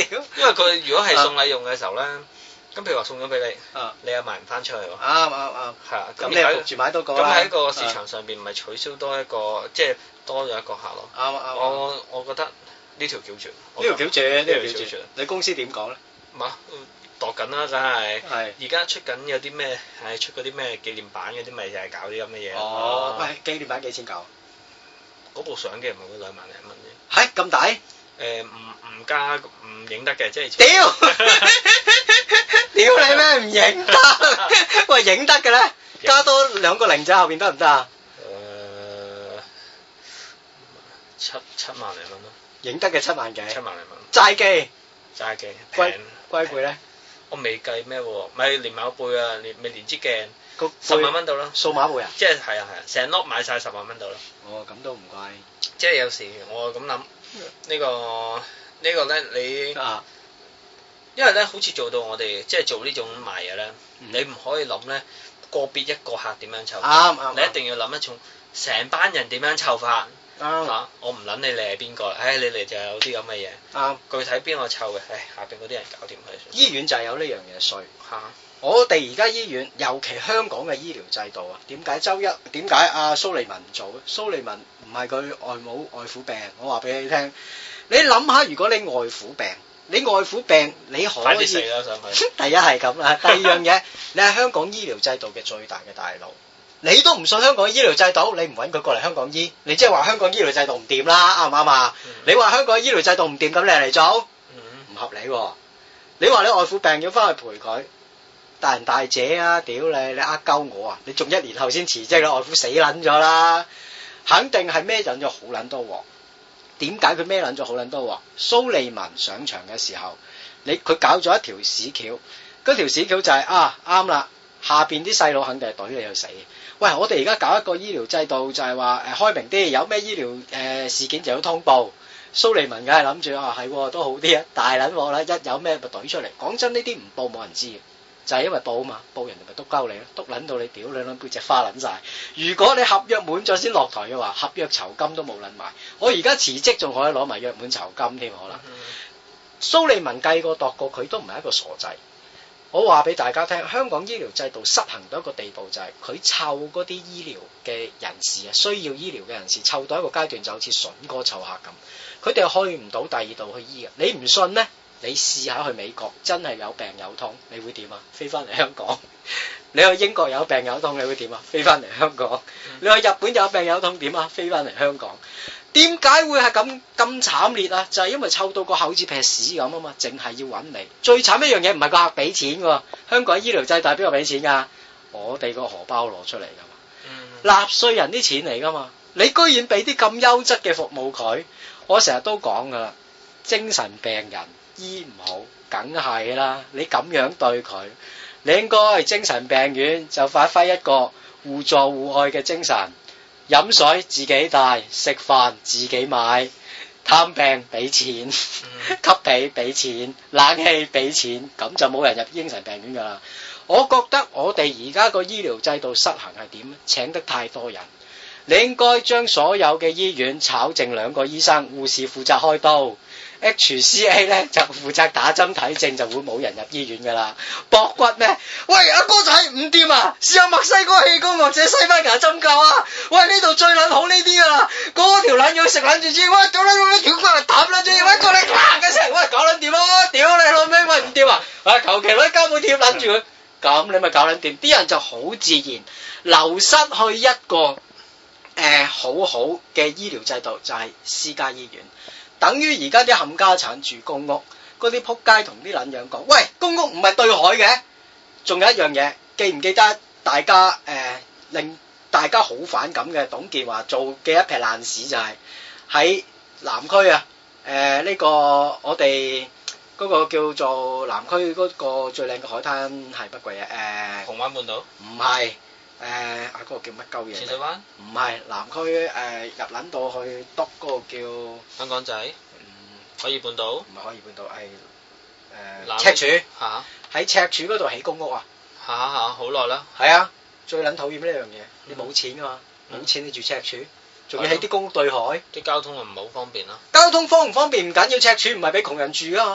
因為佢如果係送禮用嘅時候咧，咁譬如話送咗俾你，你又賣唔翻出去喎。啱啱啱。係啊，咁你焗住買多個啦。咁喺個市場上邊，咪取消多一個，即係多咗一個客咯。啱啱。我我覺得呢條橋絕。呢條橋絕，呢條橋絕。你公司點講咧？嘛，度緊啦，梗係。係。而家出緊有啲咩？係出嗰啲咩紀念版嗰啲，咪就係搞啲咁嘅嘢。哦。喂，紀念版幾錢搞？嗰部相機唔係嗰兩萬零蚊啫。係咁大？誒唔唔加唔影得嘅，即係。屌！屌你咩唔影得？喂，影得嘅咧，加多兩個零仔後邊得唔得啊？誒，七七萬零蚊咯。影得嘅七萬幾？七萬零蚊。齋機。齋機。龜龜背咧？我未計咩喎？咪連埋個背啊，連咪連支鏡。十萬蚊到啦。數碼背啊？即係係啊係啊，成粒買晒十萬蚊到啦。哦，咁都唔貴。即係有時我咁諗，呢個呢個咧你啊。因為咧，好似做到我哋即係做呢種賣嘢咧，嗯、你唔可以諗咧個別一個客點樣湊，啱啱，你一定要諗一種成班人點樣湊法，啱嚇，我唔諗你你係邊個，唉，你嚟就有啲咁嘅嘢，啱，具體邊個湊嘅，唉，下邊嗰啲人搞掂佢。醫院就係有呢樣嘢衰嚇，我哋而家醫院，尤其香港嘅醫療制度啊，點解周一點解阿蘇利文唔做？蘇利文唔係佢外母外父病，我話俾你聽，你諗下，如果你外父病。你外父病你可以，快啲死啦上去。第一係咁啦，第二樣嘢，你係香港醫療制度嘅最大嘅大佬，你都唔信香港醫療制度，你唔揾佢過嚟香港醫，你即係話香港醫療制度唔掂啦，啱唔啱啊？嗯、你話香港醫療制度唔掂，咁你嚟做，唔、嗯、合理喎、啊。你話你外父病要翻去陪佢，大人大姐啊，屌你，你呃鳩我啊，你仲一年後先辭職，你外父死撚咗啦，肯定係孭緊咗好撚多鑊。點解佢孭撚咗好撚多鑊？蘇利文上場嘅時候，你佢搞咗一條屎橋，嗰條屎橋就係、是、啊啱啦，下邊啲細佬肯定係懟你去死。喂，我哋而家搞一個醫療制度就係話誒開明啲，有咩醫療誒、呃、事件就要通報。蘇利文梗係諗住啊係都好啲啊，大撚鑊啦，一有咩咪懟出嚟。講真，呢啲唔報冇人知嘅。就係因為報啊嘛，報人哋咪督鳩你咯，督撚到你屌你撚背脊花撚晒。如果你合約滿咗先落台嘅話，合約酬金都冇撚埋。我而家辭職仲可以攞埋約滿酬金添可能。蘇利文計過度過，佢都唔係一個傻仔。我話俾大家聽，香港醫療制度失衡到一個地步，就係佢湊嗰啲醫療嘅人士啊，需要醫療嘅人士湊到一個階段，就好似筍哥湊客咁，佢哋去唔到第二度去醫嘅。你唔信咩？你試下去美國，真係有病有痛，你會點啊？飛翻嚟香港。你去英國有病有痛，你會點啊？飛翻嚟香港。你去日本有病有痛點啊？飛翻嚟香港。點解會係咁咁慘烈啊？就係因為湊到個口似劈屎咁啊嘛，淨係要揾你。最慘一樣嘢唔係個客俾錢㗎，香港醫療制度邊個俾錢㗎？我哋個荷包攞出嚟㗎嘛，納稅人啲錢嚟㗎嘛。你居然俾啲咁優質嘅服務佢，我成日都講㗎啦，精神病人。醫唔好，梗係啦！你咁樣對佢，你應該精神病院就發揮一個互助互愛嘅精神，飲水自己帶，食飯自己買，探病俾錢，吸鼻俾錢，冷氣俾錢，咁就冇人入精神病院噶啦。我覺得我哋而家個醫療制度失衡係點？請得太多人，你應該將所有嘅醫院炒剩兩個醫生，護士負責開刀。H C A 咧就負責打針睇症，就會冇人入醫院噶啦。駁骨咩？喂，阿哥仔唔掂啊！試下墨西哥氣功或者西班牙針灸啊！喂，呢度最撚好呢啲噶啦，嗰條撚要食撚住先，喂，屌你老味，條骨嚟揼撚住，喂，過嚟啪嘅聲，喂，搞撚掂咯，屌你老味，喂唔掂啊！喂，求其攞膠布貼撚住佢，咁你咪搞撚掂，啲人就好自然流失去一個誒、呃、好好嘅醫療制度，就係、是、私家醫院。等於而家啲冚家產住公屋，嗰啲仆街同啲撚樣講，喂，公屋唔係對海嘅。仲有一樣嘢，記唔記得大家誒、呃、令大家好反感嘅董建華做嘅一撇爛屎，就係喺南區啊，誒、呃、呢、這個我哋嗰個叫做南區嗰個最靚嘅海灘係乜鬼啊？誒紅灣半島？唔係。誒啊！嗰、那個叫乜鳩嘢？淺水灣？唔係南區誒、呃、入撚到去篤嗰個叫香港仔。嗯，海怡半島？唔係海怡半島，係誒赤柱嚇。喺赤柱嗰度起公屋啊！嚇嚇好耐啦。係啊，最撚討厭呢樣嘢，你冇錢㗎嘛，冇、嗯、錢你住赤柱，仲要起啲公屋對海，啲交通又唔係好方便啦。交通方唔方便唔緊要，赤柱唔係俾窮人住㗎嘛。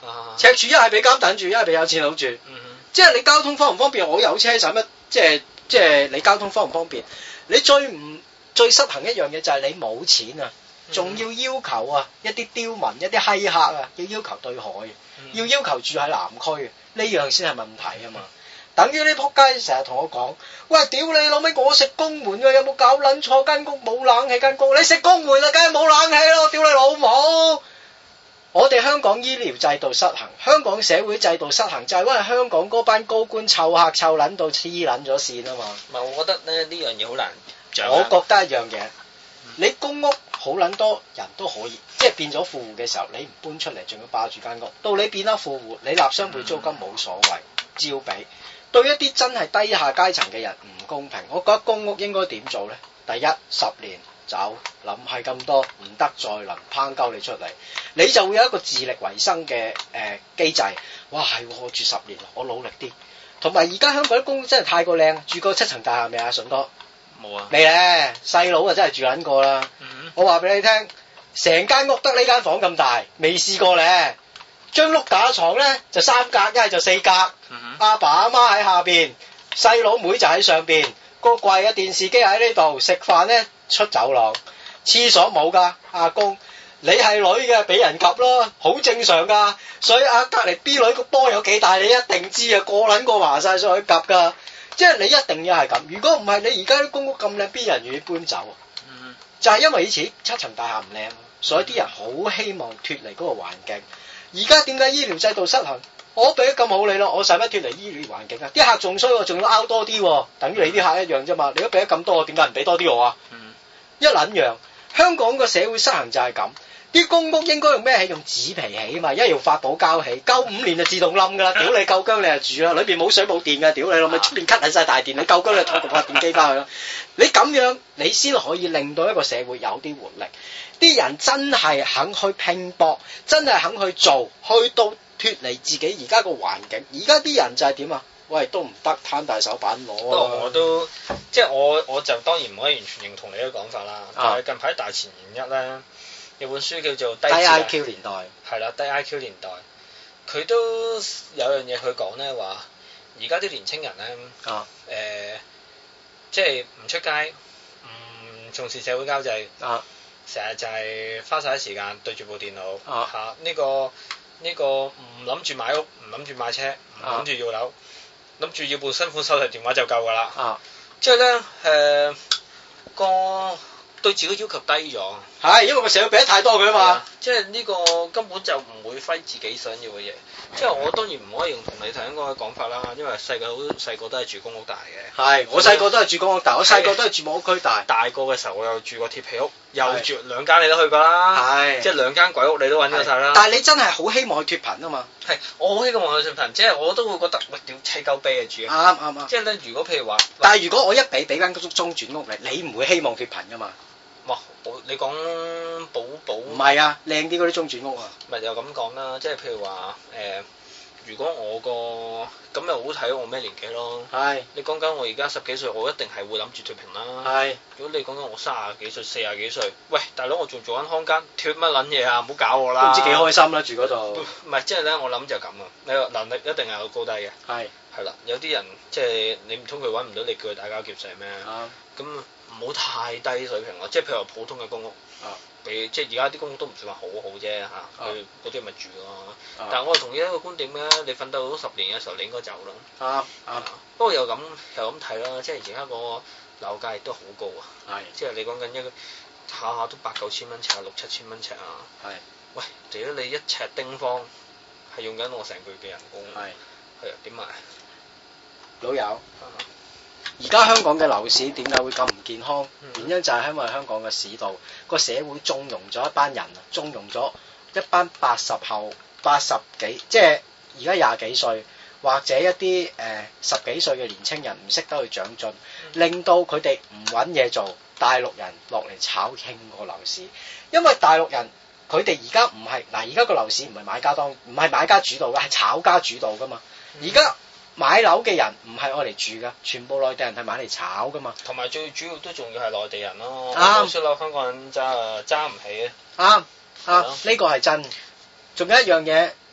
啊、 赤柱一係俾監等住，一係俾有錢佬住。嗯、即係你交通方唔方便？我有車使乜？即係即係你交通方唔方便？你最唔最失衡一樣嘢就係你冇錢啊，仲要要求啊一啲刁民、一啲閪客啊，要要求對海，嗯、要要求住喺南區，呢樣先係問題啊嘛。等於呢仆街成日同我講，喂，屌你老味，我食公門㗎，有冇搞撚錯？間屋冇冷氣，間屋你食公門啊，梗係冇冷氣咯，屌你老母！我哋香港醫療制度失衡，香港社會制度失衡，就係因為香港嗰班高官湊客湊撚到黐撚咗線啊嘛。 唔係，我覺得咧呢樣嘢好難掌。 我覺得一樣嘢，你公屋好撚多人都可以，即係變咗富戶嘅時候，你唔搬出嚟，仲要霸住間屋，到你變咗富戶，你納雙倍租金冇所謂，照俾。對一啲真係低下階層嘅人唔公平，我覺得公屋應該點做呢？第一，十年走，諗係咁多，唔得再臨拋鳩你出嚟，你就會有一個自力為生嘅誒機制。哇，係我住十年，我努力啲。同埋而家香港啲公屋真係太過靚，住過七層大廈未啊？順哥冇啊， 未咧，細佬啊真係住緊過啦。嗯、我話俾你聽，成間屋得呢間房咁大，未試過咧。張碌架床咧就三格，一係就四格。阿、嗯、哼爸阿媽喺下邊，細佬妹就喺上邊。個櫃啊，電視機喺呢度，食飯咧出走廊。廁所冇噶，阿公，你係女嘅俾人及咯，好正常噶。所以阿隔籬 B 女個波有幾大，你一定知啊，個撚個話晒上去及噶。即係你一定要係咁，如果唔係，你而家啲公屋咁靚，邊人願意搬走啊？嗯、哼就係因為以前七層大廈唔靚，所以啲人好希望脫離嗰個環境。而家點解醫療制度失衡？我俾得咁好你咯，我使乜脫離醫療環境啊？啲客仲衰，仲要拗多啲，等於你啲客一樣啫嘛。你都俾得咁多，點解唔俾多啲我啊？嗯、一撚樣，香港個社會失衡就係咁。啲公屋應該用咩起？用紙皮起嘛，一係用發泡膠起，夠五年就自動冧噶啦。屌你夠薑你就住啦，裏邊冇水冇電噶，屌你老味出邊 cut 晒大電，你夠薑你拖部發電機翻去咯。你咁樣你先可以令到一個社會有啲活力。啲人真係肯去拼搏，真係肯去做，去到脫離自己而家個環境。而家啲人就係點啊？喂，都唔得，攤大手板攞啊！ 我都即係我我就當然唔可以完全認同你嘅講法啦。但係近排大前研一咧。有本書叫做低 I Q 年代， 係啦，低 I Q 年代，佢都有樣嘢佢講咧，話而家啲年青人咧，誒、啊呃，即係唔出街，唔重視社會交際，啊，成日就係花晒啲時間對住部電腦，啊，嚇呢、啊這個呢、這個唔諗住買屋，唔諗住買車，唔諗住要樓，諗住、啊、要部新款手提電話就夠㗎啦，啊，即係咧誒個。對自己要求低咗， 係因為個社會俾得太多佢啊嘛， 即係呢個根本就唔會揮自己想要嘅嘢。即係我當然唔可以用同你頭先嗰個講法啦，因為細個好細個都係住公屋大嘅。係， 我細個都係住公屋大，我細個都係住木屋區大。 大個嘅時候我又住過鐵皮屋，又住兩間你都去過啦，係，即係兩間鬼屋你都揾咗晒啦。 但係你真係好希望去脫貧啊嘛？ 係，我好希望去脫貧，即係我都會覺得喂屌砌鳩悲啊住。啱啱啱。即係咧，如果譬如話， 但係如果我一俾俾間中中轉屋你，你唔會希望脫貧噶嘛？ 哇！你講寶寶唔係啊，靚啲嗰啲中轉屋啊， 咪又咁講啦，即係譬如話誒、呃，如果我個咁又好睇我咩年紀咯，係是你講緊我而家十幾歲，我一定係會諗住脫貧啦，係是如果你講緊我三十幾歲、四十幾歲，喂大佬我仲做緊康間，脫乜撚嘢啊？唔好搞我啦， 都唔知幾開心啦住嗰度，唔係即係咧，我諗就咁啊，你個能力一定係有高低嘅，係係啦，有啲人即係你唔通佢揾唔到你叫佢打交劫勢咩？咁、嗯。唔好太低水平咯，即係譬如話普通嘅公屋，啊，比即係而家啲公屋都唔算話好好啫嚇，佢嗰啲咪住咯。啊、但係我係同意一個觀點咧，你瞓到十年嘅時候，你應該走啦。啊啊，不過又咁又咁睇啦，即係而家個樓價亦都好高啊。係、啊，即係你講緊一個下下都八九千蚊尺，六七千蚊尺啊。係、啊，喂，如果你一尺丁方係用緊我成個月嘅人工，係係啊點買？ 老友。啊而家香港嘅樓市點解會咁唔健康？原因就係因為香港嘅市道個社會縱容咗一班人啊，縱容咗一班八十後、八十幾，即係而家廿幾歲或者一啲誒、呃、十幾歲嘅年青人唔識得去長進，令到佢哋唔揾嘢做，大陸人落嚟炒興個樓市。因為大陸人佢哋而家唔係嗱，而家個樓市唔係買家當，唔係買家主導嘅，係炒家主導噶嘛。而家買樓嘅人唔係愛嚟住噶，全部內地人係買嚟炒噶嘛。同埋最主要都仲要係內地人咯。啱。所以樓香港人揸揸唔起啊。啱啱呢個係真。仲有一樣嘢，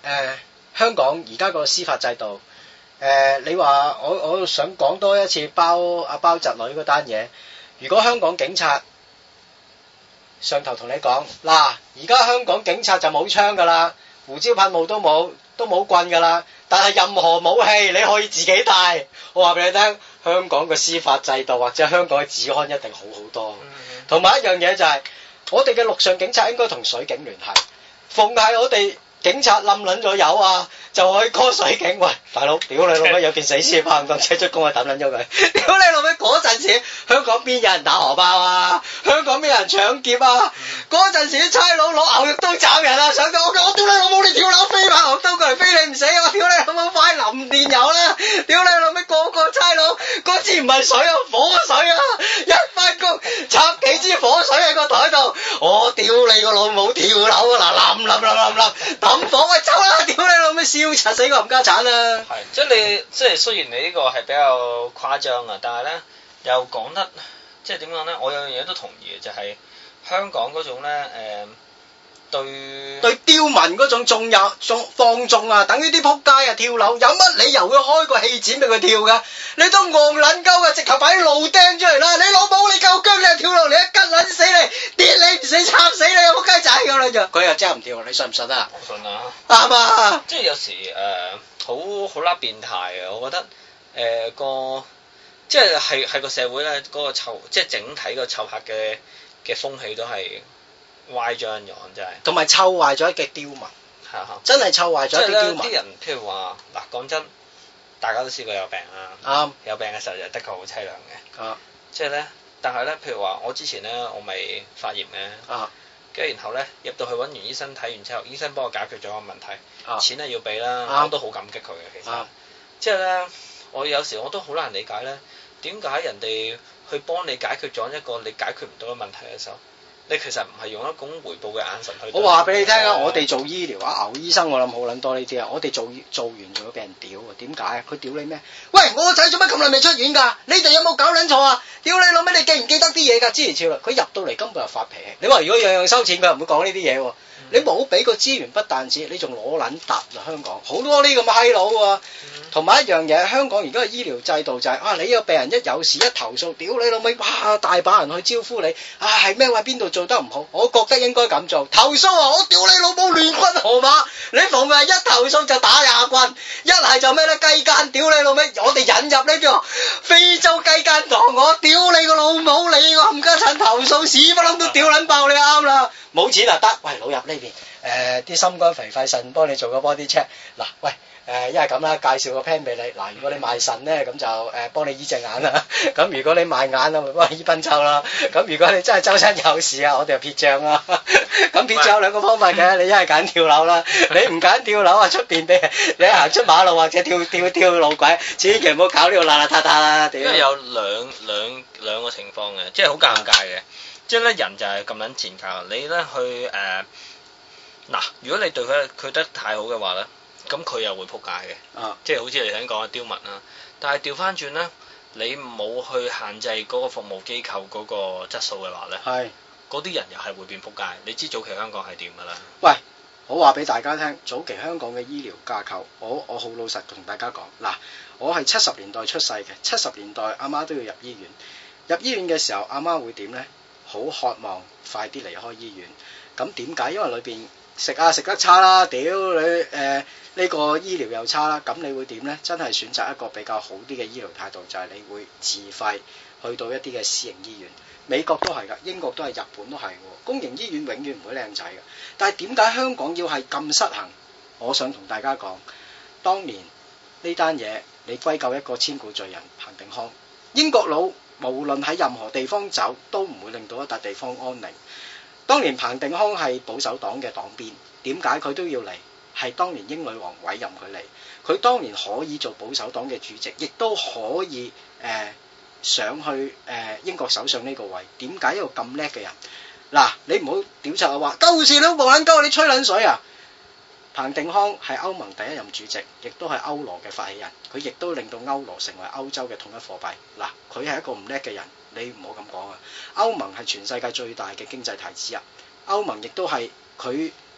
呃、香港而家個司法制度，誒、呃、你話我我想講多一次包阿包侄女嗰單嘢。如果香港警察上頭同你講，嗱，而家香港警察就冇槍噶啦，胡椒噴霧都冇，都冇棍噶啦，但係任何武器你可以自己帶。我話俾你聽，香港嘅司法制度或者香港嘅治安一定好好多。同埋、嗯、一樣嘢就係、是，我哋嘅陸上警察應該同水警聯繫，逢係我哋警察冧撚咗油啊，就可以 call 水警。喂，大佬，屌你老味，有件死屍拍唔當車出工啊，抌撚咗佢。屌你老味，嗰陣時香港邊有人打荷包啊？香港邊有人搶劫啊？嗰陣、嗯、時啲差佬攞牛肉刀斬人啊！上到我，我屌你老母，你跳樓飛把牛肉刀過嚟飛你唔死啊！屌你老母，快淋電油啦！屌你老味，個個差佬嗰支唔係水啊，火水啊！一翻工插幾支火水喺個台度，我屌你個老母，跳樓啊！嗱，冧冧冧冧冧，抌火喂走啦！屌你老味，燒柒死個冚家鏟啊！ 係，即係你即係雖然你呢個係比較誇張啊，但係咧又講得即係點講咧？我有樣嘢都同意嘅，就係、是、香港嗰種咧誒、呃、對對刁民嗰種縱有縱放縱啊，等於啲仆街啊跳樓，有乜理由會開個氣展俾佢跳㗎？你都戇撚鳩嘅，直頭擺啲路釘出嚟啦！你老母你夠薑，你就跳落嚟，一吉撚死你，跌你唔死，插死你，仆街仔咁樣就佢又真係唔跳，你信唔信啊？ 我信啊！ 啱啊！ 即係有時誒。呃好好啦，變態啊！我覺得誒、呃、個即係係係個社會咧，嗰、那個臭即係整體個臭客嘅嘅風氣都係歪咗人樣，真係。同埋臭壞咗嘅刁民，係啊，真係臭壞咗啲刁民。啲人譬如話嗱，講真，大家都試過有病啦，啱、嗯。有病嘅時候就的確好凄涼嘅，啊、即係咧，但係咧，譬如話我之前咧，我咪發炎嘅。啊跟住然後咧入到去揾完醫生睇完之後，醫生幫我解決咗個問題，啊、錢係要俾啦，啊、我都好感激佢嘅其實。即係咧，我有時我都好難理解咧，點解人哋去幫你解決咗一個你解決唔到嘅問題嘅時候，你其實唔係用一種回報嘅眼神去。我話俾你聽啊，我哋做醫療啊，牛醫生我諗好撚多呢啲啊，我哋做做完仲要俾人屌啊，點解啊？佢屌你咩？喂，我個仔做乜咁耐未出院㗎？你哋有冇搞撚錯啊？屌你老味，你記唔記得啲嘢㗎？之前超啦，佢入到嚟根本就發脾氣。你話如果樣樣收錢，佢又唔會講呢啲嘢喎。嗯、你冇俾個資源不但止，你仲攞撚揼啦！香港好多呢咁嘅閪佬喎。同埋、嗯、一樣嘢，香港而家嘅醫療制度就係、是、啊，你個病人一有事一投訴，屌你老味，哇大把人去招呼你。啊係咩話邊度做得唔好？我覺得應該咁做。投訴啊！我屌你老母亂軍河馬，你逢係一投訴就打廿棍，一係就咩咧雞奸，屌你老味！我哋引入呢個非洲雞奸黨，我屌你個老母！你個冚家鏟投訴屎不冧都屌撚爆你啱啦！冇錢啊得，喂老入呢邊，誒啲心肝脾肺腎幫你做個 body check，嗱喂誒一係咁啦，介紹個 plan 俾你，嗱如果你賣腎咧咁就誒幫你醫隻眼啦，咁如果你賣眼啊咪幫你醫賓周啦，咁如果你真係周身有事啊，我哋就撇帳啦，咁撇帳有兩個方法嘅，你一係揀跳樓啦，你唔揀跳樓啊出邊俾你行出馬路或者跳跳跳路軌，千祈唔好搞呢個邋邋遢遢啦，因為有兩兩兩個情況嘅，即係好尷尬嘅。即係咧，人就係咁撚賤格。你咧去誒嗱、呃，如果你對佢佢得太好嘅話咧，咁佢又會撲街嘅。啊，即係好似你頭先講嘅刁民啦。但係調翻轉咧，你冇去限制嗰個服務機構嗰個質素嘅話咧，係嗰啲人又係會變撲街。你知早期香港係點㗎啦？喂，我話俾大家聽，早期香港嘅醫療架構，我我好老實同大家講嗱，我係七十年代出世嘅，七十年代阿媽都要入醫院，入醫院嘅時候阿媽會點咧？好渴望快啲離開醫院，咁點解？因為裏邊食啊食得差啦，屌你誒呢個醫療又差啦，咁你會點呢？真係選擇一個比較好啲嘅醫療態度，就係你會自費去到一啲嘅私營醫院，美國都係㗎，英國都係，日本都係喎，公營醫院永遠唔會靚仔㗎。但係點解香港要係咁失衡？我想同大家講，當年呢單嘢你歸咎一個千古罪人彭定康，英國佬。無論喺任何地方走，都唔會令到一笪地方安寧。當年彭定康係保守黨嘅黨鞭，點解佢都要嚟？係當年英女王委任佢嚟，佢當年可以做保守黨嘅主席，亦都可以誒、呃、上去誒、呃、英國首相呢個位。點解一個咁叻嘅人？嗱，你唔好屌柒我話，鳩事都冇撚鳩，你吹撚水啊！彭定康係歐盟第一任主席，亦都係歐羅嘅發起人，佢亦都令到歐羅成為歐洲嘅統一貨幣。嗱，佢係一個唔叻嘅人，你唔好咁講啊！歐盟係全世界最大嘅經濟體之一，歐盟亦都係佢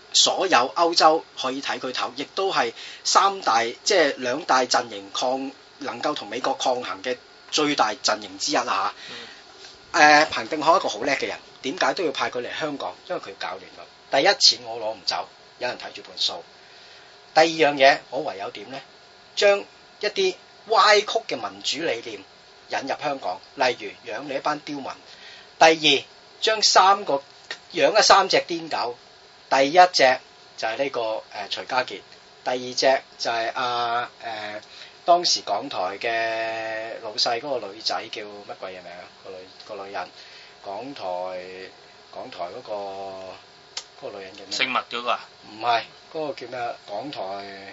所有歐洲可以睇佢頭，亦都係三大即係兩大陣營抗能夠同美國抗衡嘅最大陣營之一啊嚇。誒、嗯呃、彭定康一個好叻嘅人，點解都要派佢嚟香港？因為佢搞亂咗。第一，錢我攞唔走，有人睇住盤數。第二樣嘢，我唯有點咧？將一啲歪曲嘅民主理念引入香港，例如養你一班刁民。第二，將三個養咗三隻癲狗。第一隻就係呢、這個誒、呃、徐家傑，第二隻就係阿誒當時港台嘅老細嗰個女仔叫乜鬼嘢名啊？個女個女人，港台港台嗰、那個嗰、那個女人叫咩？ 姓麥嗰個啊？ 唔係，嗰、那個叫咩？港台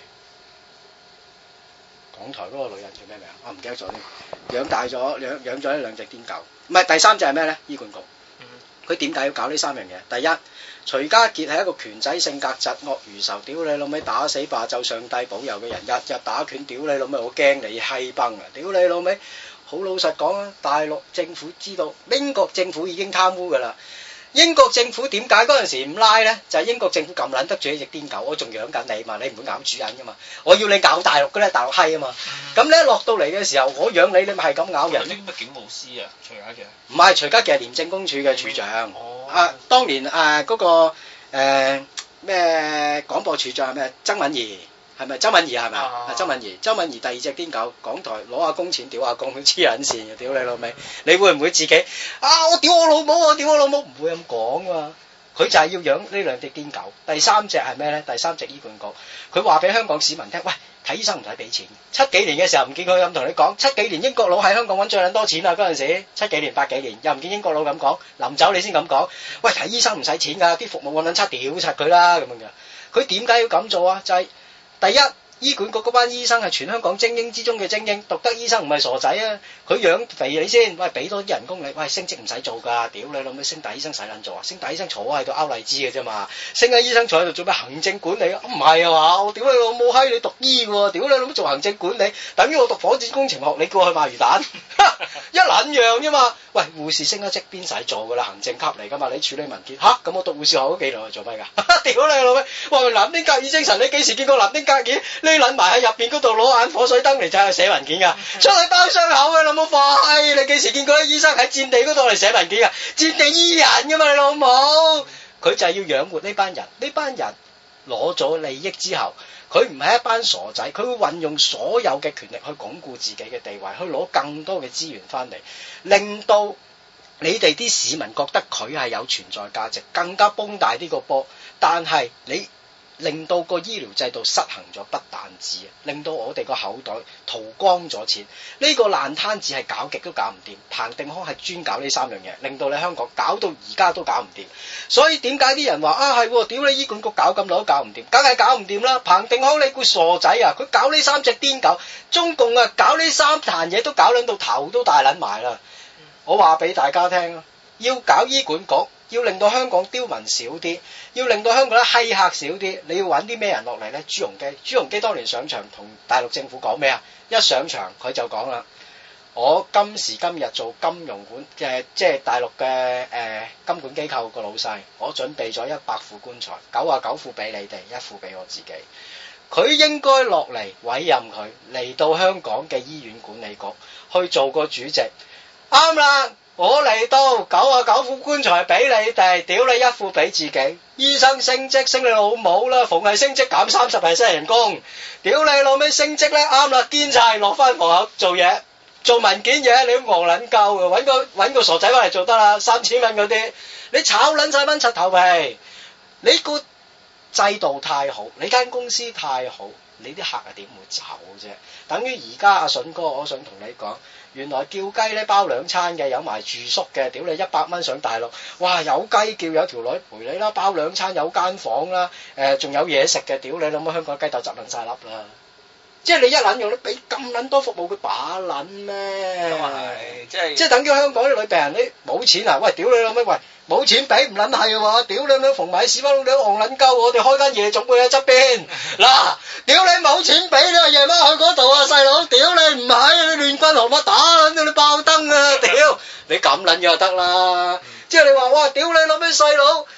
港台嗰個女人叫咩名？我唔記得咗添。養大咗養養咗呢兩隻癲狗，唔係第三隻係咩咧？醫管局。佢點解要搞呢三樣嘢？第一，徐家傑係一個拳仔性格疾惡如仇，屌你老味打死霸就上帝保佑嘅人，日日打拳，屌你老味我驚你閪崩啊！屌你老味，好老實講啊，大陸政府知道英國政府已經貪污㗎啦。英國政府點解嗰陣時唔拉咧？就係、是、英國政府咁撚得住一隻癲狗，我仲養緊你嘛，你唔會咬主人噶嘛，我要你咬大陸嘅咧，大陸閪啊嘛。咁咧落到嚟嘅時候，我養你，你咪係咁咬人。 啲乜警務司啊？徐家傑？ 唔係，徐家傑係廉政公署嘅署長。 哦。 啊，當年誒嗰、呃那個誒咩廣播處長係咩？曾敏儀係咪？周敏儀係咪啊？周敏儀，周敏儀第二隻癲狗，港台攞下工錢屌下工，黐撚線嘅，屌你老味！你會唔會自己啊？我屌我老母，我屌我老母，唔會咁講噶嘛。佢就係要養呢兩隻癲狗。第三隻係咩咧？第三隻醫管局，佢話俾香港市民聽，喂，睇醫生唔使俾錢。七幾年嘅時候唔見佢咁同你講，七幾年英國佬喺香港揾最撚多錢啦嗰陣時，七幾年八幾年又唔見英國佬咁講，臨走你先咁講，喂，睇醫生唔使錢㗎，啲服務我撚差屌柒佢啦咁樣嘅。佢點解要咁做啊？就係、是、第一。醫管局嗰班醫生係全香港精英之中嘅精英，獨得醫生唔係傻仔啊！佢養肥你先，喂，俾多啲人工你，喂，升職唔使做㗎，屌你老味，升大醫生使撚做啊？升大醫生坐喺度拗荔枝嘅啫嘛，升下醫生坐喺度做咩行政管理啊？唔係啊嘛，我屌你老母閪，你讀醫喎，屌你老母做行政管理，等於我讀火箭工程學，你叫我去賣魚蛋，一撚樣啫嘛！喂，護士升一職邊使做㗎啦，行政級嚟㗎嘛，你處理文件吓，咁我讀護士學嗰幾年做咩㗎？屌你老味，喂，南丁格爾精神，你幾時見過南丁格爾？你撚埋喺入邊嗰度攞眼火水燈嚟就係寫文件㗎，出去包傷口嘅老母快！你幾時見過啲醫生喺戰地嗰度嚟寫文件㗎？戰地醫人㗎嘛，你老母！佢就係要養活呢班人，呢班人攞咗利益之後，佢唔係一班傻仔，佢會運用所有嘅權力去鞏固自己嘅地位，去攞更多嘅資源翻嚟，令到你哋啲市民覺得佢係有存在價值，更加崩大呢個波。但係你令到個醫療制度失衡咗，不但止，令到我哋個口袋掏光咗錢。呢、這個爛攤子係搞極都搞唔掂。彭定康係專搞呢三樣嘢，令到你香港搞到而家都搞唔掂。所以點解啲人話啊係，屌你醫管局搞咁耐都搞唔掂，梗係搞唔掂啦。彭定康你估傻仔啊？佢搞呢三隻癲狗，中共啊搞呢三壇嘢都搞撚到頭都大撚埋啦。我話俾大家聽啊，要搞醫管局。要令到香港刁民少啲，要令到香港咧閪客少啲，你要揾啲咩人落嚟咧？朱鎔基，朱鎔基當年上場同大陸政府講咩啊？一上場佢就講啦，我今時今日做金融管嘅、呃，即係大陸嘅誒、呃、金管機構個老細，我準備咗一百副棺材，九啊九副俾你哋，一副俾我自己。佢應該落嚟委任佢嚟到香港嘅醫院管理局去做個主席，啱啦。我嚟到九啊九副棺材俾你哋，屌你一副俾自己。醫生升職升你老母啦，逢係升職減三十 percent 人工，屌你老味升職咧啱啦，堅晒落翻房口做嘢，做文件嘢你都戇撚鳩嘅，搵個搵個傻仔翻嚟做得啦，三千蚊嗰啲，你炒撚晒蚊柒頭皮，你個制度太好，你間公司太好，你啲客啊點會走啫？等於而家阿筍哥，我想同你講。原來叫雞咧包兩餐嘅，有埋住宿嘅，屌你一百蚊上大陸，哇有雞叫有條女陪你啦，包兩餐有間房啦，誒、呃、仲有嘢食嘅，屌你諗下香港雞竇執撚晒粒啦，即係你一撚用你俾咁撚多服務佢把撚咩？咁啊係，即係即係等於香港啲女病人你冇錢啊，喂屌你諗咩？喂冇錢俾唔撚係喎，屌你諗逢買屎忽窿你都戇撚鳩，我哋開間夜總會喺側邊，嗱屌你冇錢俾你夜晚去嗰度啊細佬，屌你唔係你亂軍河乜打撚到你爆燈啊，屌你咁撚樣就得啦，即係你話哇屌你諗咩細佬？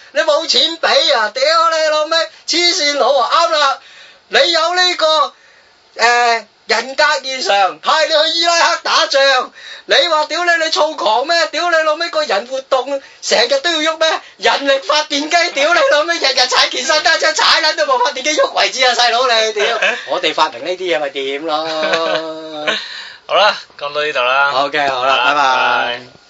你冇錢俾啊！屌你老味，黐線佬啊！啱啦，你有呢、這個誒、呃、人格異常，派你去伊拉克打仗，你話屌你你躁狂咩？屌你老味個人活動成日都要喐咩？人力發電機，屌你老味日日踩健身單車踩撚都冇發電機喐為止啊！細佬你屌，我哋發明呢啲嘢咪掂咯。 好啦，講到呢度啦。 OK，好啦，拜拜。拜拜。